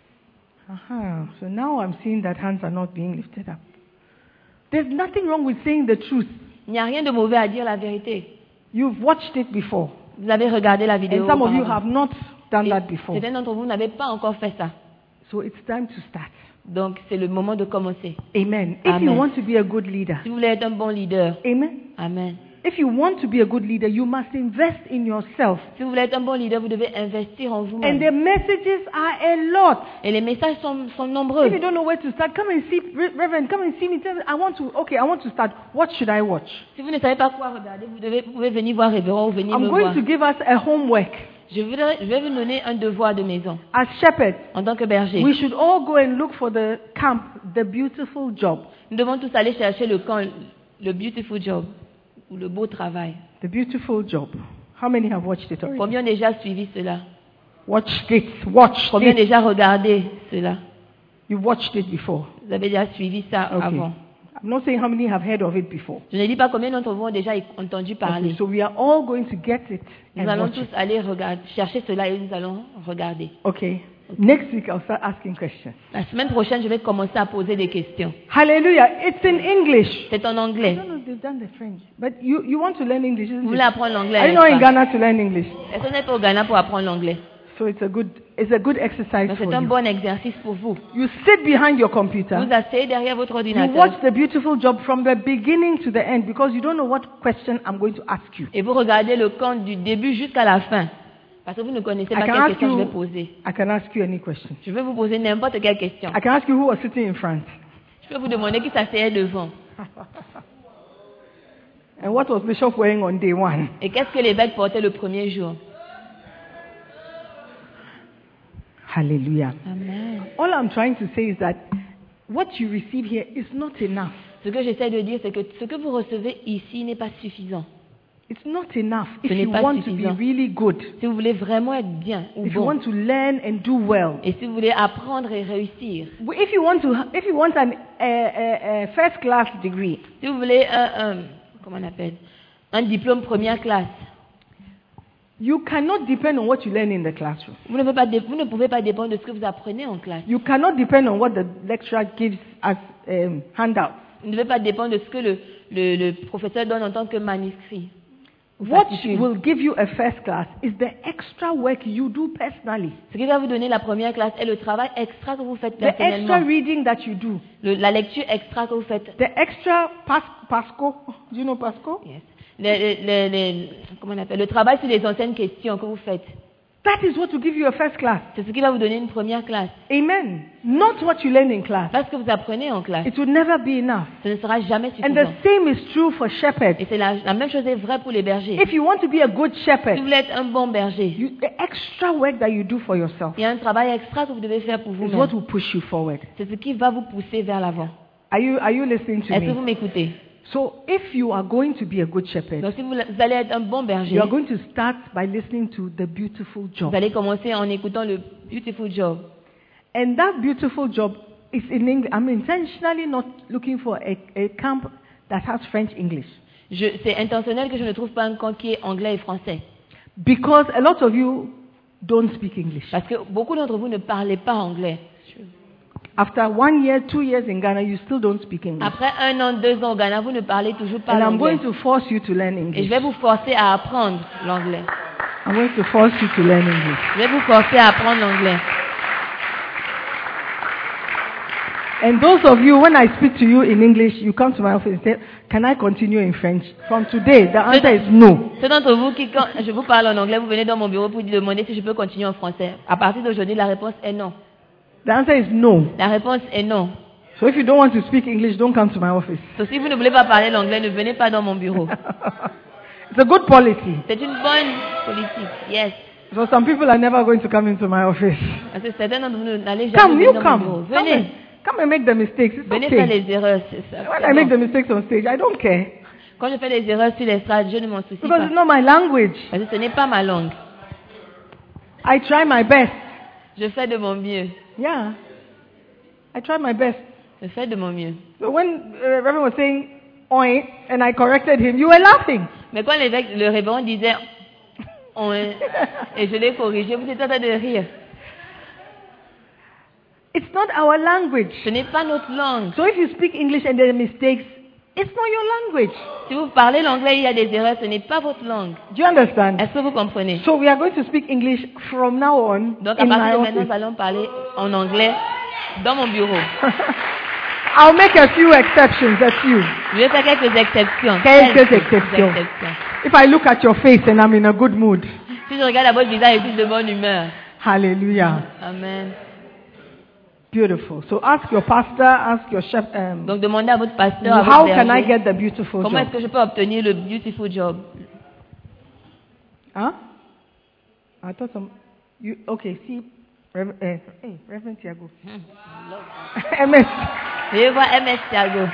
So now I'm seeing that hands are not being lifted up. There's nothing wrong with saying the truth. Il n'y a rien de mauvais à dire la vérité. You've watched it before. Vous avez regardé la vidéo And some of you auparavant. have not done Et that before. certains d'entre vous n'avez pas encore fait ça. So it's time to start. Donc, c'est le moment de commencer. Amen. If you Amen. want to be a good leader, Si vous voulez être un bon leader, amen. amen. If you want to be a good leader, you must invest in yourself. Si vous voulez être un bon leader, vous devez investir en And vous-même. the messages are a lot. Et les messages sont nombreux. If you don't know where to start, come and see, Reverend, come and see me. Tell me, I want to start. What should I watch? Si vous ne savez pas quoi regarder, vous pouvez venir voir Révérend ou venir I'm me going voir. to give us a homework. Je vais vous donner un devoir de maison. As shepherds, En tant que berger, we should all go and look for the camp, the beautiful job. nous devons tous aller chercher le camp, le beautiful job, ou le beau travail. The beautiful job. How many have watched it already? Combien ont déjà suivi cela? Watched it. Watched Combien ont it. déjà regardé cela? You've watched it before. Vous avez déjà suivi ça Okay. avant. I'm not saying how many have heard of it before. Je ne dis pas combien d'entre vous ont déjà entendu parler. Okay, so we are all going to get it Nous and allons watch tous it. aller chercher cela et nous allons regarder. Okay. Next week I'll start asking questions. La semaine prochaine, je vais commencer à poser des questions. Hallelujah. It's in English. C'est en I anglais. don't know if they've done the French. But you want to learn English, Vous isn't voulez it? apprendre l'anglais? Are you not in n'est-ce pas? Ghana to learn English? Est-ce que vous n'êtes pas au Ghana pour apprendre l'anglais? So it's a good exercise Donc for c'est un you. bon exercice pour vous. You sit behind your computer. Vous asseyez derrière votre You ordinateur watch the beautiful job from the beginning to the end because you don't know what question I'm going to ask you. et vous regardez le camp du début jusqu'à la fin. Parce que vous ne connaissez I pas can quelle ask question je vais you. poser. I can ask you any question. Je vais vous poser n'importe quelle question. I can ask you who was sitting in front Je peux vous demander qui s'asseyait devant. and what was Bishop wearing on day one. Et qu'est-ce que l'évêque portait le premier jour? Hallelujah. Amen. All I'm trying to say is that what you receive here is not enough. Ce que j'essaie de dire, c'est que ce que vous recevez ici n'est pas suffisant. It's not enough if Ce n'est you pas want to be suffisant. really good. Si vous voulez vraiment être bien ou If you bon, want to learn and do well. et si vous voulez apprendre et réussir, If you want a first class degree, si vous voulez comment on appelle, un diplôme première classe, you cannot depend on what you learn in the classroom. vous ne pouvez pas dépendre de ce que vous apprenez en classe. You cannot depend on what the lecturer gives as handouts. Vous ne devez pas dépendre de ce que le professeur donne en tant que manuscrit. What Fascicule. will give you a first class is the extra work you do personally. Ce qui va vous donner la première classe est le travail extra que vous faites The extra personnellement. reading that you do. La lecture extra que vous faites. The extra Pasco. Do you know Pasco? Yes. Comment on appelle, le travail sur les anciennes questions que vous faites. That is what will give you a first class. C'est ce qui va vous donner une première classe. Amen. Not what you learn in class. Pas ce que vous apprenez en classe. It will never be enough. Ce ne sera jamais And suffisant. the same is true for shepherds. Et c'est la même chose est vraie pour les bergers. If you want to be a good Si shepherd, vous voulez être un bon berger, the extra work that you do for yourself il y a un travail extra que vous devez faire pour is vous-même. what will push you forward. C'est ce qui va vous pousser vers l'avant. Are you listening to Est-ce que vous me? m'écoutez? So if you are going to be a good shepherd, Donc si vous allez être un bon berger, you are going to start by listening to the beautiful job. vous allez commencer en écoutant le beautiful job. And that beautiful job is in English. I'm intentionally not looking for a camp that has French English. C'est intentionnel que je ne trouve pas un camp qui est anglais et français. Because a lot of you don't speak English. Parce que beaucoup d'entre vous ne parlez pas anglais. After 1 year, 2 years in Ghana, you still don't speak English. Après 1 an, 2 ans au Ghana, vous ne parlez toujours pas And I'm l'anglais. going to force you to learn Et je English. vais vous forcer à apprendre l'anglais. I'm going to force you to learn English. Je vais vous forcer à apprendre l'anglais. And those of you, when I speak to you in English, you come to my office and say, can I continue in French? From today, the answer is no. Ceux d'entre vous qui, quand je vous parle en anglais, vous venez dans mon bureau pour demander si je peux continuer en français. À partir d'aujourd'hui, la réponse est non. The answer is no. La réponse est non. So if you don't want to speak English, don't come to my office. Donc si vous ne voulez pas parler l'anglais, ne venez pas dans mon bureau. It's a good policy. C'est une bonne politique. Yes. So some people are never going to come into my office. Parce que certains d'entre vous n'allez Come, jamais you venir dans mon bureau. come. Venez. Come and make the mistakes. It's Venez faire okay. les erreurs. C'est ça. When C'est I make bon. the mistakes on stage, I don't care. Quand je fais les erreurs sur l'estrade, je ne m'en soucie Because pas. it's not my language. Parce que ce n'est pas ma langue. I try my best. Je fais de mon mieux. Yeah. I tried my best. Je fais de mon mieux. So when Reverend was saying "oi" and I corrected him, you were laughing. Mais quand le révérend disait on, et je l'ai corrigé, vous étiez en train de rire. It's not our language. Ce n'est pas notre langue. So if you speak English and there are mistakes, it's not your language. Si vous parlez l'anglais, il y a des erreurs, ce n'est pas votre langue. Do you understand? Est-ce que vous comprenez? So we are going to speak English from now on Donc à in my partir de maintenant, office. nous allons parler en anglais dans mon bureau. I'll make a few exceptions, a few. Je vais faire quelques exceptions. Quelques exceptions. If I look at your face and I'm in a good mood. Si je regarde à votre visage et je suis de bonne humeur. Hallelujah. Amen. Beautiful. So ask your pastor, ask your chef. Donc demandez à votre pasteur, à How votre can I berger, get the beautiful comment est-ce job? que je peux obtenir le beautiful job? Huh? I thought some. You okay? See, Reverend Tiago. MS. Je vais voir MS Thiago.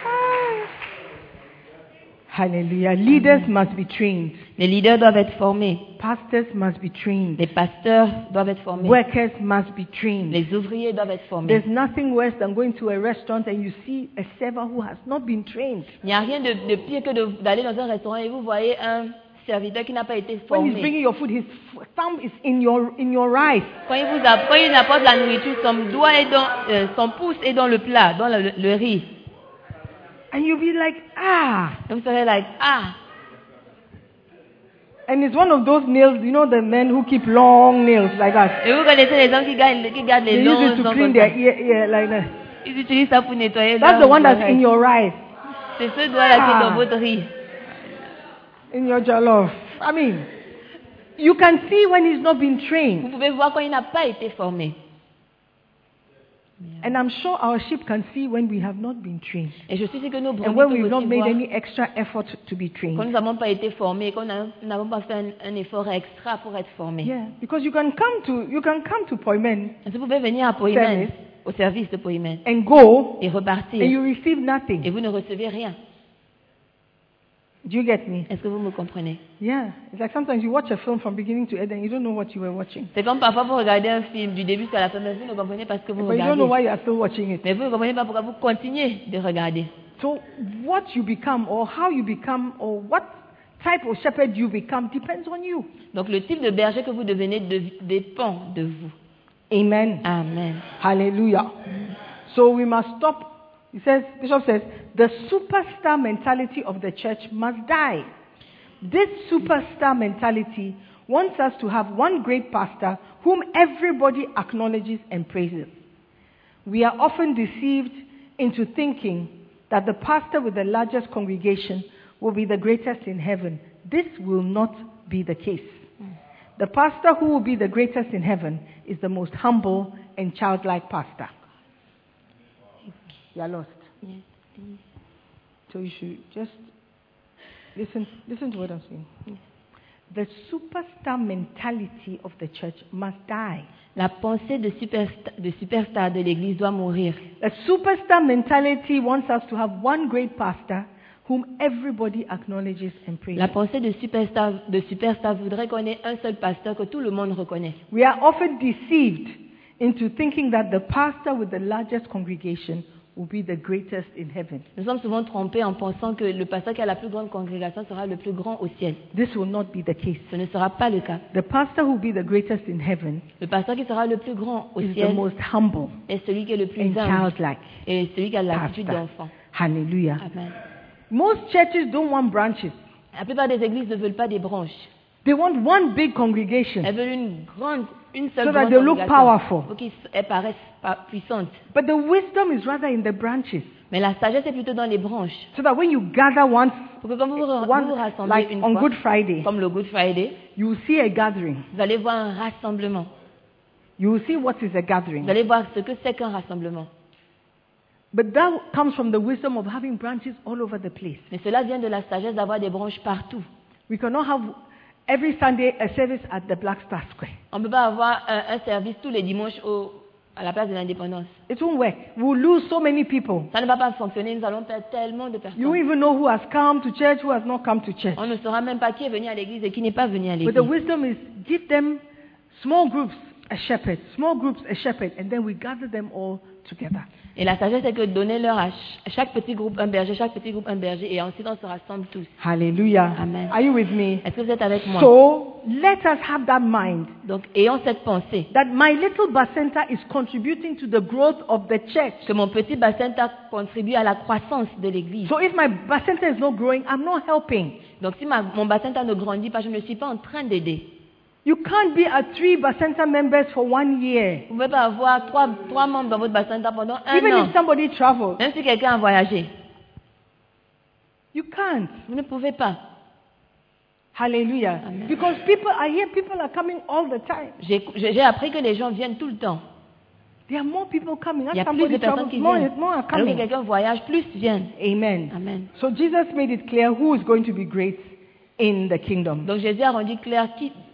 Hallelujah. Leaders must be trained. Les leaders doivent être formés. Pastors must be trained. Les pasteurs doivent être formés. Workers must be trained. Les ouvriers doivent être formés. There's nothing worse than going to a restaurant and you see a server who has not been trained. Il n'y a rien de pire que d'aller dans un restaurant et vous voyez un serviteur qui n'a pas été When he's formé. bringing your food, his thumb is in your rice. Quand il apporte la nourriture, son doigt est dans, son pouce est dans le plat, dans le riz. And you'll be like, ah. Et vous serez like, ah. And it's one of those nails, you know, the men who keep long nails like that. Et vous connaissez les gens qui gardent They les use longs it to ongles clean comme their ça. ear like that. Ils utilisent ça pour nettoyer That's the leurs one that's oreilles. in your rice, C'est ce doigt-là qui est Ah. dans votre riz. in your jollof. I mean, you can see when he's not been Vous trained. pouvez voir quand il n'a pas été formé. And I'm sure our sheep can see when we have not been trained. Et je suis sûre que nos And brebis when peuvent we've not aussi made voir any extra effort to be quand trained. nous n'avons pas été formés, quand nous n'avons pas fait un effort extra pour être formés. Yeah, because you can come to Poimen Vous pouvez venir à Poimen, Service. au service de Poimen, and go et repartir, and you receive et nothing. vous ne recevez rien. Do you get me? Est-ce que vous me comprenez? Yeah. It's like sometimes you watch a film from beginning to end and you don't know what you were watching. C'est comme parfois vous regardez un film du début jusqu'à la fin, mais vous ne comprenez pas ce que vous But you don't know regardez. why you are still watching it. Mais vous ne comprenez pas pourquoi vous continuez de regarder. So what you become or how you become or what type of shepherd you become depends on you. Donc le type de berger que vous devenez dépend de vous. Amen. Amen. Hallelujah. So we must stop. He says, Bishop says, the superstar mentality of the church must die. This superstar mentality wants us to have one great pastor whom everybody acknowledges and praises. We are often deceived into thinking that the pastor with the largest congregation will be the greatest in heaven. This will not be the case. The pastor who will be the greatest in heaven is the most humble and childlike pastor. You are lost. Yes, please. So you should just listen to what I'm saying. The superstar mentality of the church must die. La pensée de superstar de l'Église doit mourir. The superstar mentality wants us to have one great pastor whom everybody acknowledges and praises. La pensée de superstar voudrait qu'on ait un seul pasteur que tout le monde reconnaît. We are often deceived into thinking that the pastor with the largest congregation will be the greatest in heaven. Nous sommes souvent trompés en pensant que le pasteur qui a la plus grande congrégation sera le plus grand au ciel. This will not be the case. Ce ne sera pas le cas. The pastor who will be the greatest in heaven Le pasteur qui sera le plus grand au is the ciel most humble est celui qui est le plus and humble childlike et celui qui a l'attitude pastor. d'enfant. Hallelujah. Amen. Most churches don't want branches. La plupart des églises ne veulent pas des branches. They want one big congregation Elles veulent une seule so that grande they look congrégation powerful. pour qu'elles paraissent puissantes. But the wisdom is rather in the branches. Mais la sagesse est plutôt dans les branches. So that when you gather once, Pour que quand vous vous one rassemblez like une on fois, Good Friday, comme le Good Friday, you will see a gathering. vous allez voir un rassemblement. You will see what is a gathering. Vous allez voir ce que c'est qu'un rassemblement. But that comes from the wisdom of having branches all over the place. Mais cela vient de la sagesse d'avoir des branches partout. We cannot have every Sunday a service at the Black Star Square. On ne peut pas avoir un service tous les dimanches à la place de l'Indépendance. It won't work. We will lose so many people. Ça ne va pas fonctionner, nous allons perdre tellement de You personnes. won't even know who has come to church, who has not come to church. On ne saura même pas qui est venu à l'église et qui n'est pas venu à But l'église. the wisdom is give them small groups a shepherd, small groups a shepherd, and then we gather them all together. Et la sagesse, c'est que donnez-leur à chaque petit groupe un berger, chaque petit groupe un berger, et ensuite on se rassemble tous. Hallelujah. Amen. Are you with me? Est-ce que vous êtes avec moi? So let us have that mind Donc, ayons cette pensée that my little bacenta is contributing to the growth of the church. que mon petit bacenta contribue à la croissance de l'Église. So if my bacenta is not growing, I'm not helping. Donc, si mon bacenta ne grandit pas, je ne suis pas en train d'aider. You can't be at 3 bacenta members for 1 year. Vous ne pouvez pas avoir trois membres dans votre bacenta pendant un Even an. if somebody travels, Même si quelqu'un a voyagé, you can't. vous ne pouvez pas. Hallelujah. Amen. Because people are coming all the time. J'ai appris que les gens viennent tout le temps. There are more people coming. Il y As a plus somebody de personnes travels, qui more viennent. are Alors que coming. quelqu'un voyage, plus viennent. Amen. Amen. So Jesus made it clear who is going to be great in the kingdom. Donc Jésus a rendu clair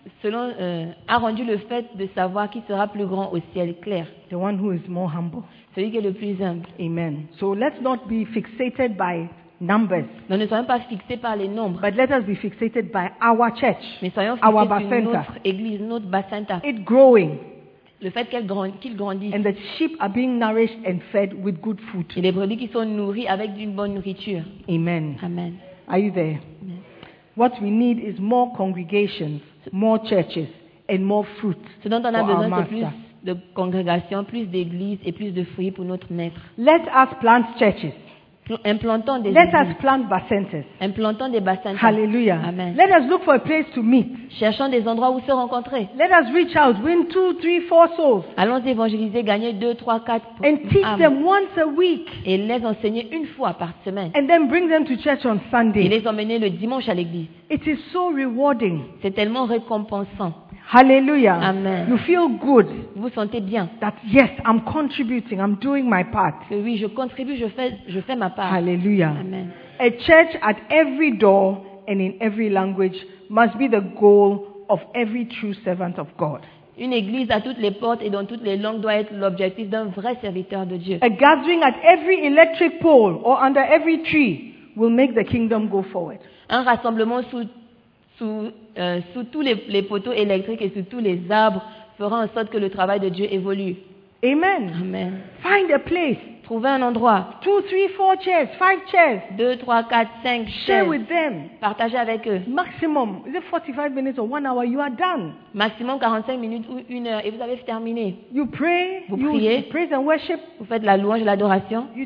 a rendu le fait de savoir qui sera plus grand au ciel clair. The one who is more humble. Celui qui est le plus humble. Amen. So let's not be fixated by numbers, Donc ne soyons pas fixés par les nombres, but let us be fixated by our church, mais soyons our fixés sur bacenta. notre église, notre bacenta. It growing, Le fait qu'il grandisse. and the sheep are being nourished and fed with good food. Et les brebis qui sont nourris avec d'une bonne nourriture. Amen. Amen. Are you there? Amen. What we need is more congregations, more churches, and more fruit Ce dont on a for our besoin, c'est plus master. de congrégations, plus d'églises et plus de fruits pour notre maître. Let us plant churches. Implantons des Let églises. us plant bacentas. Implantons des bassins. Hallelujah. Amen. Let us look for a place to meet. Cherchons des endroits où se rencontrer. Let us reach out, win 2, 3, 4 souls, Allons évangéliser, gagner 2, 3, 4 and teach âmes. them once a week, Et les enseigner une fois par semaine. and then bring them to church on Et Sunday. les emmener le dimanche à l'église. It is so rewarding. C'est tellement récompensant. Hallelujah. Amen. You feel good Vous vous sentez bien. that, yes, I'm contributing, I'm doing my part. Que oui, je contribue, je fais ma part. Hallelujah. Amen. A church at every door and in every language must be the goal of every true servant of God. Une église à toutes les portes et dans toutes les langues doit être l'objectif d'un vrai serviteur de Dieu. A gathering at every electric pole or under every tree will make the kingdom go forward. Un rassemblement sous tous les poteaux électriques et sous tous les arbres fera en sorte que le travail de Dieu évolue. Amen. Amen. Find a place. Trouvez un endroit. 2, 3, 4 chairs, 5 chairs. 2, 3, 4, 5 Share chaises. with them. Partagez avec eux. Maximum, is it 45 minutes or 1 hour? You are done. Maximum 45 minutes ou 1 heure et vous avez terminé. You pray, Vous you priez. praise and worship. Vous faites la louange et l'adoration. Do you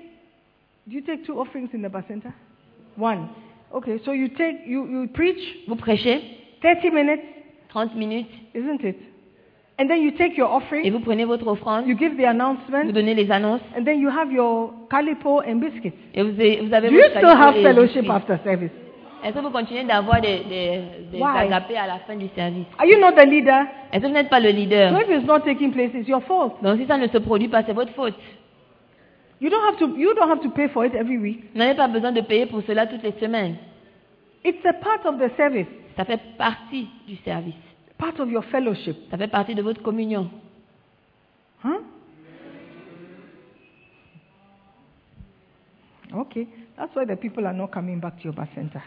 take 2 offerings in the bacenta? 1. Okay, so you preach Vous prêchez 30 minutes, 30 minutes isn't it? And then you take your et offering, vous prenez votre offrande. you give the Vous announcement, donnez les annonces and then you have your calipo and biscuits. et vous avez Do you votre still have calipo et fellowship biscuits. after service? Est-ce que vous continuez d'avoir des Why? agapés à la fin du service? Are you not the leader? Est-ce que vous n'êtes pas le leader? So if it's not taking place, it's your fault. Donc si ça ne se produit pas, c'est votre faute. You don't have to pay for it every week. Vous n'avez pas besoin de payer pour cela toutes les semaines. It's a part of the service, Ça fait partie du service. part of your fellowship. Ça fait partie de votre communion. Huh? Okay, that's why the people are not coming back to your bacenta.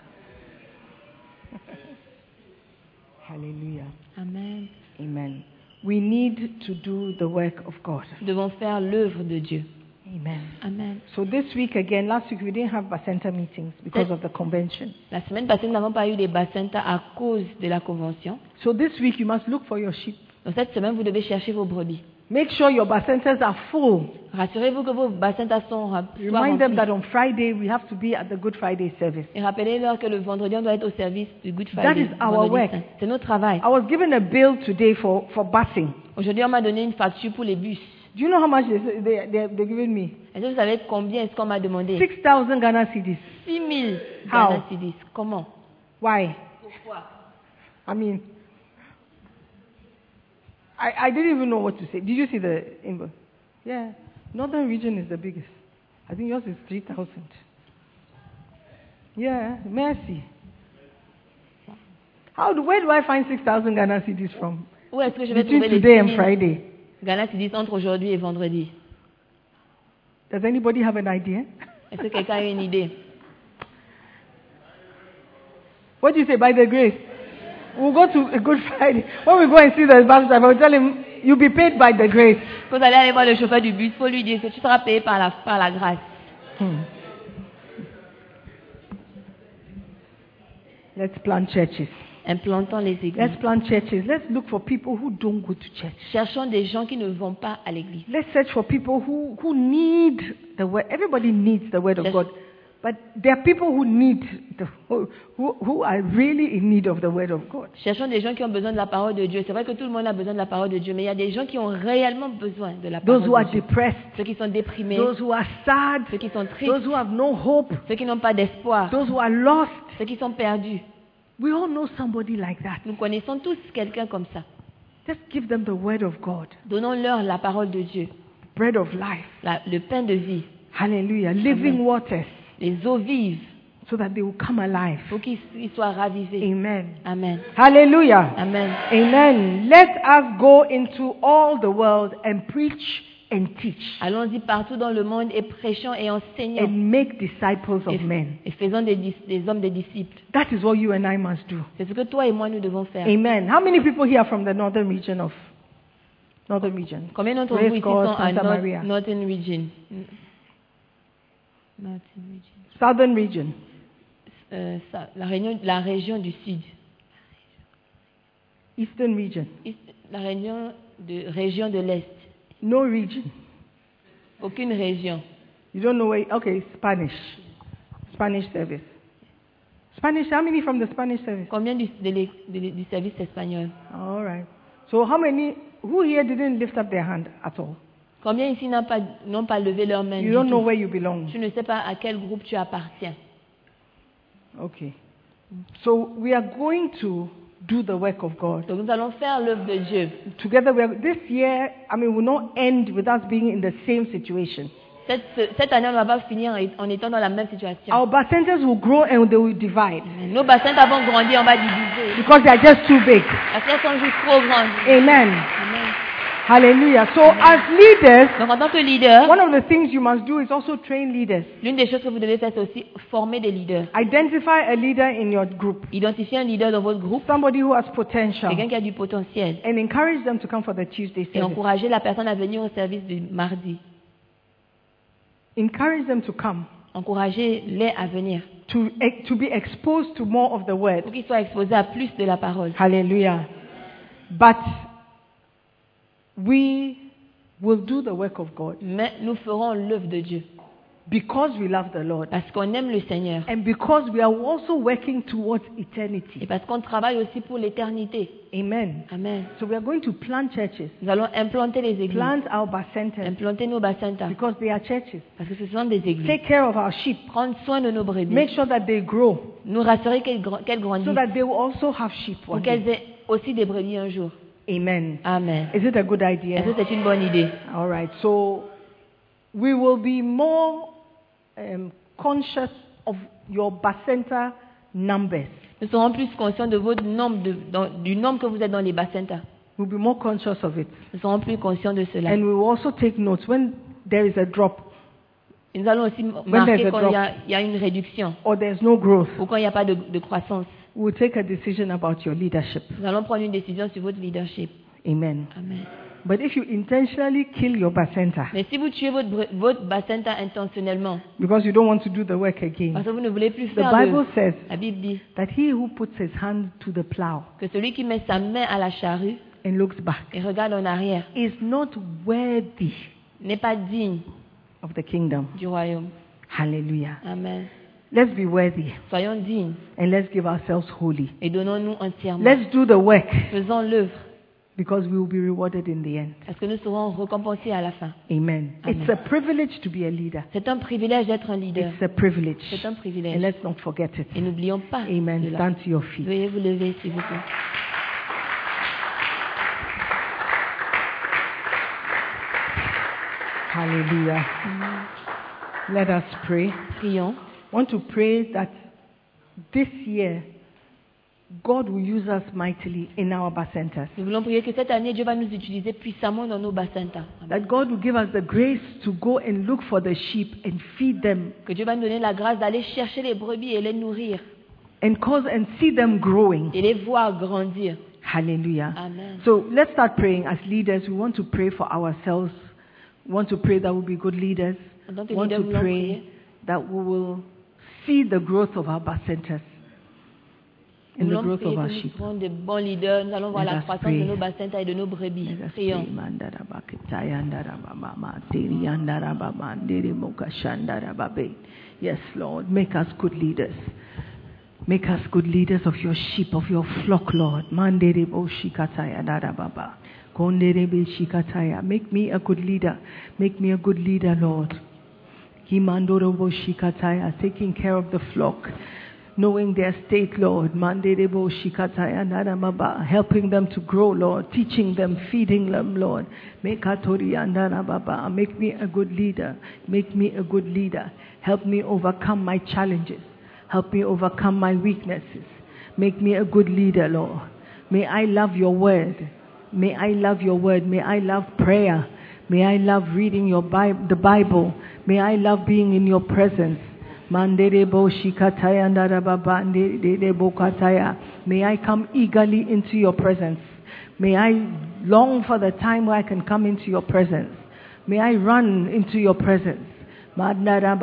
Hallelujah. Amen. Amen. We need to do the work of God. Nous devons faire l'œuvre de Dieu. Amen. Amen. So this week again, last week we didn't have bacenta meetings because of the convention. La semaine passée, nous n'avons pas eu des bacentas à cause de la convention. So this week you must look for your sheep. Donc cette semaine, vous devez chercher vos brebis. Make sure your bacentas are full. Rassurez-vous que vos bacentas sont soient Remind them remplis. that on Friday we have to be at the Good Friday service. Et rappelez-leur que le vendredi, on doit être au service du Good That Friday. is our vendredi work. saint. C'est notre travail. I was given a bill today for busing. Aujourd'hui, on m'a donné une facture pour les bus. Do you know how much they're giving me? Est-ce que vous savez combien est-ce qu'on m'a demandé? 6,000 Ghana cedis. 6 000 How? Ghana cedis. Comment? Why? Pourquoi? I mean, I didn't even know what to say. Did you see the invoice? Yeah. Northern region is the biggest. I think yours is 3,000. Yeah, mercy. Where do I find 6,000 Ghana cedis from? Où est-ce que je vais Between trouver les today 6 and 000 Friday. Ghana cedis entre aujourd'hui et vendredi? Does anybody have an idea? Est-ce que quelqu'un a une idée? What do you say? By the grace. We'll go to a Good Friday. When we go and see the pastor, I will tell him, You'll be paid by the grace. Quand vous allez aller voir le chauffeur du bus, il faut lui dire que tu seras payé par la grâce. Let's plant churches. Implantons les églises. Let's plant churches. Let's look for people who don't go to church. Cherchons des gens qui ne vont pas à l'église. Let's search for people who need the word. Everybody needs the word of God. But there are people who need who are really in need of the word of God. Cherchons des gens qui ont besoin de la parole de Dieu. C'est vrai que tout le monde a besoin de la parole de Dieu, mais il y a des gens qui ont réellement besoin de la parole Those who are de Dieu. depressed, Ceux qui sont déprimés, those who are sad, ceux qui sont tristes, those who have no hope, ceux qui n'ont pas d'espoir, those who are lost. ceux qui sont perdus. We all know somebody like that. Nous connaissons tous quelqu'un comme ça. Just give them the word of God, Donnons-leur la parole de Dieu, bread of life. le pain de vie, Hallelujah. Living Amen. waters, les eaux vives, so that they will come alive. pour qu'ils soient ravivés. Amen. Amen. Hallelujah. Amen. Amen. Let us go into all the world and preach and teach Allons-y partout dans le monde et prêchons et enseignons and make disciples of men. et faisons des hommes des disciples. That is what you and I must do. C'est ce que toi et moi nous devons faire. Amen. How many people here from the northern region? Combien d'entre Praise vous ici God, sont à Santa Maria. Northern Region? Northern Region. Southern region. La région du Sud. Eastern region. La région de l'Est. No region. Aucune région. You don't know where. Okay, Spanish. Spanish service. Spanish. How many from the Spanish service? Combien du service espagnol? All right. So how many? Who here didn't lift up their hand at all? Combien ici n'ont pas levé leur main? You du don't know tout? where you belong. Tu ne sais pas à quel groupe tu appartiens. Okay. So we are going to do the work of God. Donc nous allons faire l'œuvre de Dieu. Together, this year, will not end with us being in the same situation. Cette année, on ne va pas finir en étant dans la même situation. Our bacentas will grow and they will divide Nos bassins vont grandir, on va diviser. because they are just too big. Parce qu'elles sont juste trop grandes. Amen. Amen. Hallelujah. So as leaders, Donc en tant que leader, one of the things you must do is also train leaders. l'une des choses que vous devez faire, c'est aussi former des leaders. Identify a leader in your group, Identifiez un leader dans votre groupe, somebody who has potential, quelqu'un qui a du potentiel, and encourage them to come for the Tuesday et service. encourager la personne à venir au service du mardi. Encourage them to come, Encouragez-les à venir to be exposed to more of the word. pour qu'ils soient exposés à plus de la parole. Hallelujah. But we will do the work of God Mais nous ferons l'œuvre de Dieu because we love the Lord parce qu'on aime le Seigneur and because we are also working towards et eternity. parce qu'on travaille aussi pour l'éternité. Amen. Amen. So we are going to plant churches, Nous allons implanter les églises, plant our bacentas implanter nos bassins because they are churches. parce que ce sont des églises. Take care of our sheep. Prendre soin de nos brebis, Make sure that they grow nous rassurer qu'elles grandissent so that they will also have sheep pour one qu'elles day. aient aussi des brebis un jour. Amen. Amen. Is it a good Est-ce idea? que c'est une bonne idée? All right. So we will be more conscious of your bacenta numbers. Nous serons plus conscients de votre nombre, du nombre que vous êtes dans les bassins. We'll be more conscious of it. Nous serons plus conscients de cela. And we will also take notes when there is a drop Et nous allons aussi there's marquer a quand drop. il y a une réduction or there's no growth. ou quand il n'y a pas de croissance. We'll take a decision about your leadership. Nous allons prendre une décision sur votre leadership. Amen. Amen. But if you intentionally kill your bacenta Mais si vous tuez votre bassin intentionnellement, because you don't want to do the work again, parce que vous ne voulez plus the faire Bible says la Bible dit that he who puts his hand to the plow que celui qui met sa main à la charrue and looks back et regarde en arrière is not worthy n'est pas digne of the kingdom. du royaume. Hallelujah. Amen. Let's be worthy Soyons dignes and let's give ourselves holy. et donnons-nous entièrement. Let's do the work Faisons l'œuvre because we will be rewarded in the end. parce que nous serons récompensés à la fin. Amen. Amen. It's a privilege to be a leader. C'est un privilège d'être un leader. It's a privilege. C'est un And privilège. let's not forget it. Et n'oublions pas Amen. cela. Stand to your feet. Veuillez vous lever, s'il vous plaît. Hallelujah. Let us pray. Prions. I want to pray that this year God will use us mightily in our bacentas. Nous voulons prier que cette année, Dieu va nous utiliser puissamment dans nos bassins. That God will give us the grace to go and look for the sheep and feed them Que Dieu va nous donner la grâce d'aller chercher les brebis et les nourrir and see them growing. et les voir grandir. Hallelujah. Amen. So let's start praying as leaders. We want to pray for ourselves. We want to pray that we'll be good leaders. En tant que We want leader, to nous allons pray prier that we will see the growth of our bacentas Nous and the allons growth prier of our que nous sheep. serons de bons leaders. Nous allons voir Let la us croissance pray. de nos bassins et de nos brebis. Let us Prions. pray. Mandarabakitaya, ndarabama, tiri, andarabama, ndiri, mukashandarababe. Yes, Lord, make us good leaders. Make us good leaders of your sheep, of your flock, Lord. Manderebo shikataya darababa. Konderebe shikataya. Make me a good leader. Make me a good leader, Lord. Kimandorobo shikataya. Taking care of the flock. Knowing their state, Lord. Manderebo shikataya darababa. Helping them to grow, Lord. Teaching them, feeding them, Lord. Make me a good leader. Make me a good leader. Help me overcome my challenges. Help me overcome my weaknesses. Make me a good leader, Lord. May I love your word. May I love your word. May I love prayer. May I love reading your the Bible. May I love being in your presence. May I come eagerly into your presence. May I long for the time where I can come into your presence. May I run into your presence. I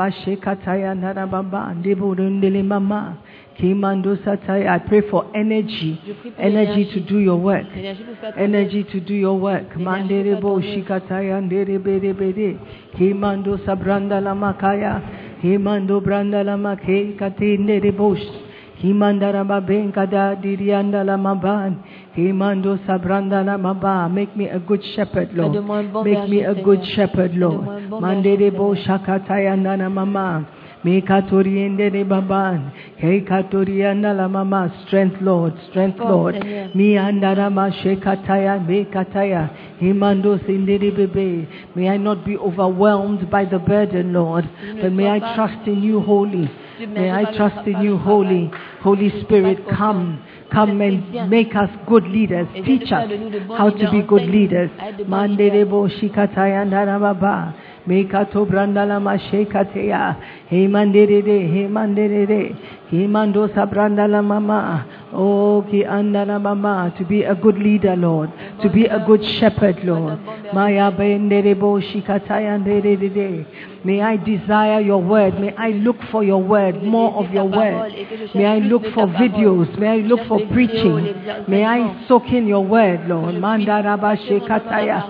pray for energy to do your work. Energy to do your work. Manderebo shikataya nderebere. Himando sabranda la makaya. Himando branda la make katinde rebosh. Himandaraba benkada dirianda la maban. Himando sabranda la maba. Make me a good shepherd, Lord. Make me a good shepherd, Lord. Manderebo shakataya nana mama. Mekatoriende de baban. Hekatorianda la mama. Strength, Lord. Strength, Lord. Mi andarama shekataya mekataya. Himando sindiri bebe. May I not be overwhelmed by the burden, Lord, but may I trust in you wholly. May I trust in you wholly. Holy Spirit, come and make us good leaders. Teach us how to be good leaders. Manderebo shikataya ndarababa. Mekato brandala mashekateya. Hemanderede. Himando sabrandala mama. Oh, ki andala mama. To be a good leader, Lord. To be a good shepherd, Lord. Maya benderebo shikataya nderede. May I desire your word. May I look for your word, more of your word. May I look for videos. May I look for preaching. May I soak in your word, Lord. Mandaraba shekataya.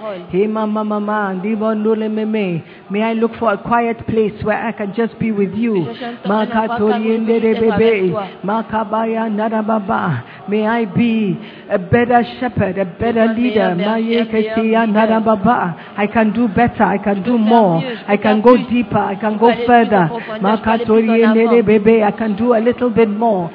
May I look for a quiet place where I can just be with you. May I be a better shepherd, a better leader. I can do better. I can do more. I can go deeper. I can go further. I can do a little bit more.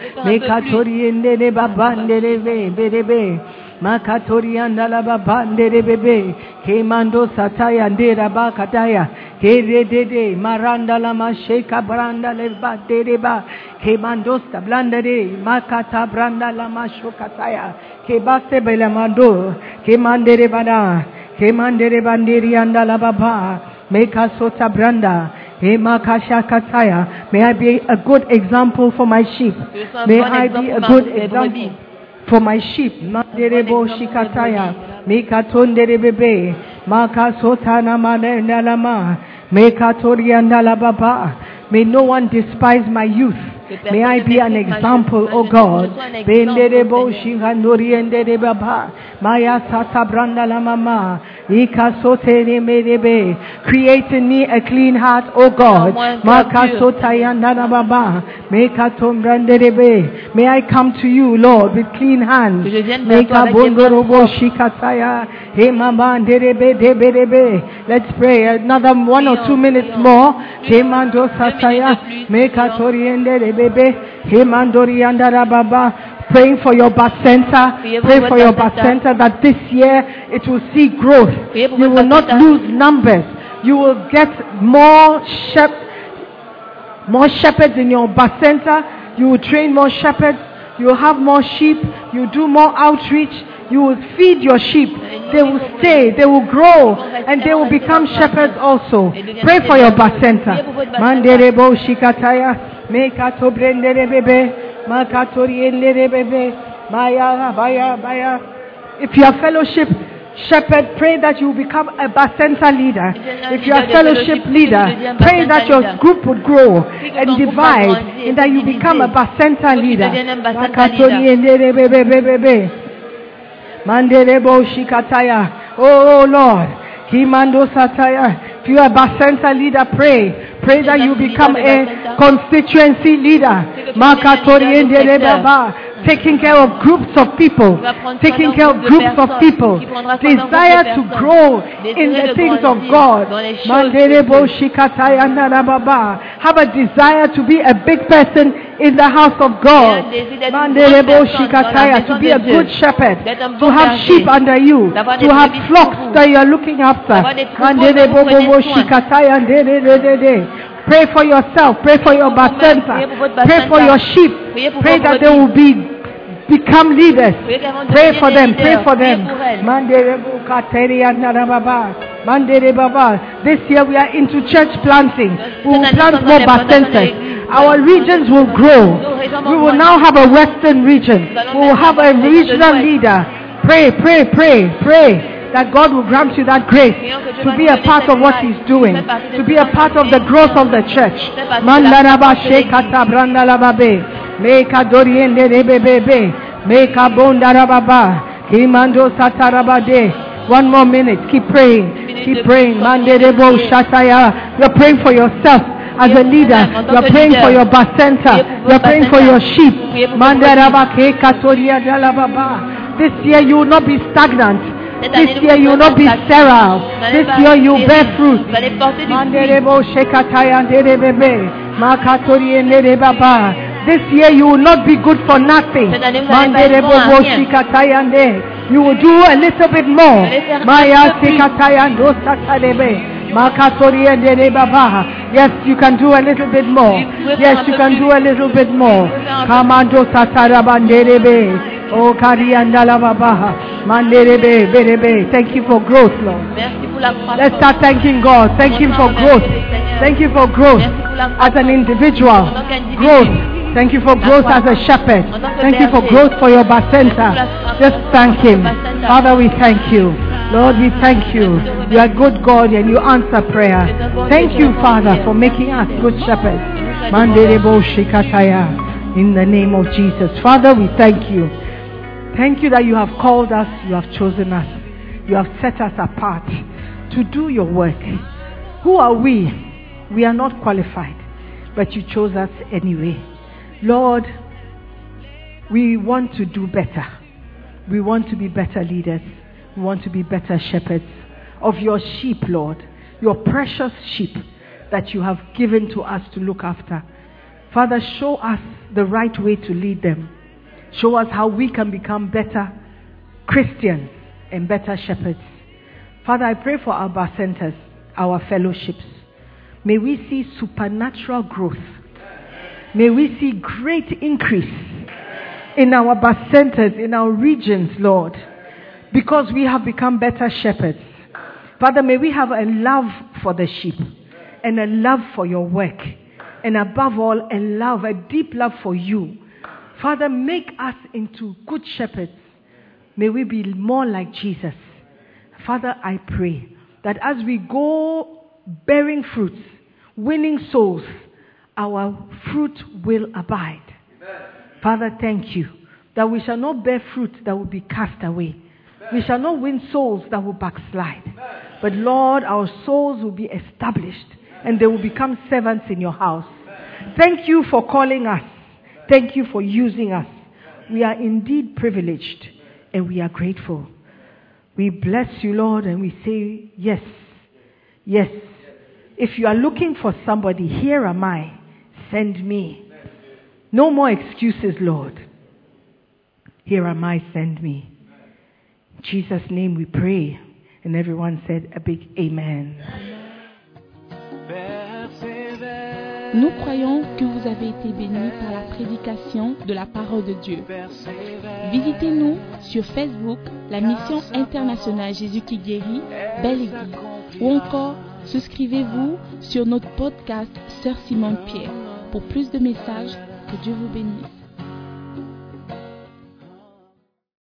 Makatorianda la babandere bebe. Kemando sataya ndera bakataya. Kedede maranda la masheka branda le batereba. Kemando stablandere makata branda la mashokataya. Kebase belamando. Kemandere bada. Kemandere bandiri anda la baba. Meka sota branda. May I be a good example for my sheep. May I be a good example for my sheep. Manderebo shikataya. Mekatonde bebe. Makasotana manendalama. Mekatorianda la baba. May no one despise my youth. May I be an example, O God. Benderebo shikandoriende baba. Maya sata branda la mama. Ikasote medebe. Create in me a clean heart, O God. Makasotayanda la baba. Mekatom branderebe. May I come to you, Lord, with clean hands. Mekabondorobo shikataya. Hemamanderebe debedebe. Let's pray another 1 or 2 minutes more. Hemando sataya. Mekatoriende bebe. Hemandorianda la baba. Praying for your bacenta. Pray for your bacenta that this year it will see growth. You will not lose numbers. You will get more shepherds in your bacenta. You will train more shepherds. You will have more sheep. You will do more outreach. You will feed your sheep. They will stay. They will grow. And they will become shepherds also. Pray for your bacenta. Manderebo shikataya. Mekato brendere bebe. Makatori endere bebe. Maya baya baya. If you are fellowship shepherd, pray that you will become a Bacenta leader. If you are fellowship leader, pray that your group would grow and divide and that you become a Bacenta leader. Manderebo shikataya. Oh Lord, Kimando sataya. If you are a Bacenta leader, pray. Pray that you become a constituency leader. Taking care of groups of people. Taking care of groups of people. Desire to grow in the things of God. Have a desire to be a big person in the house of God. To be a good shepherd. To have sheep under you. To have flocks that you are looking after. Pray for yourself. Pray for your Bacenta. Pray for your sheep. Pray that they will become leaders. Pray for them. Pray for them. This year we are into church planting. We will plant more Bacentas. Our regions will grow. We will now have a western region. We will have a regional leader. Pray that God will grant you that grace to be a part of what He's doing, to be a part of the growth of the church. Make a doriende rebebe, make a bondarababa, Kimando satarabade. 1 more minute, keep praying, Manderebo shataya. You're praying for yourself as a leader, you're praying for your Bacenta, you're praying for your sheep. Mandarabake katoria dalababa. This year you will not be stagnant. This year you will not be sterile. This year you will bear fruit. Manderebo shekataya nderebebe, makatori nderebaba. This year you will not be good for nothing. You will do a little bit more. Yes, you can do a little bit more. Yes, you can do a little bit more. Kamando satarabanderebe. Oh, Kariandalababa. Manderebe, berebe. Thank you for growth, Lord. Let's start thanking God. Thank Him for growth. Thank you for growth as an individual. Growth. Thank you for growth as a shepherd. Thank you for growth for your Bacenta. Just thank Him. Father, we thank you. Lord, we thank you. You are good God and you answer prayer. Thank you, Father, for making us good shepherds. In the name of Jesus. Father, we thank you. Thank you that you have called us, you have chosen us. You have set us apart to do your work. Who are we? We are not qualified, but you chose us anyway. Lord, we want to do better. We want to be better leaders. We want to be better shepherds of your sheep, Lord. Your precious sheep that you have given to us to look after. Father, show us the right way to lead them. Show us how we can become better Christians and better shepherds. Father, I pray for our Bacentas, our fellowships. May we see supernatural growth. May we see great increase in our Bacentas, in our regions, Lord, because we have become better shepherds. Father, may we have a love for the sheep and a love for your work, and above all, a deep love for you. Father, make us into good shepherds. May we be more like Jesus. Father, I pray that as we go bearing fruits, winning souls, our fruit will abide. Amen. Father, thank you that we shall not bear fruit that will be cast away. Amen. We shall not win souls that will backslide. Amen. But Lord, our souls will be established and they will become servants in your house. Amen. Thank you for calling us. Thank you for using us. We are indeed privileged and we are grateful. We bless you, Lord, and we say, yes, yes. If you are looking for somebody, here am I. Send me. No more excuses, Lord. Here am I, send me. In Jesus' name we pray. And everyone said a big amen. Nous croyons que vous avez été bénis par la prédication de la parole de Dieu. Visitez-nous sur Facebook, la mission internationale Jésus qui guérit, Belle Église, ou encore souscrivez-vous sur notre podcast Sœur Simone Pierre. Pour plus de messages, que Dieu vous bénisse.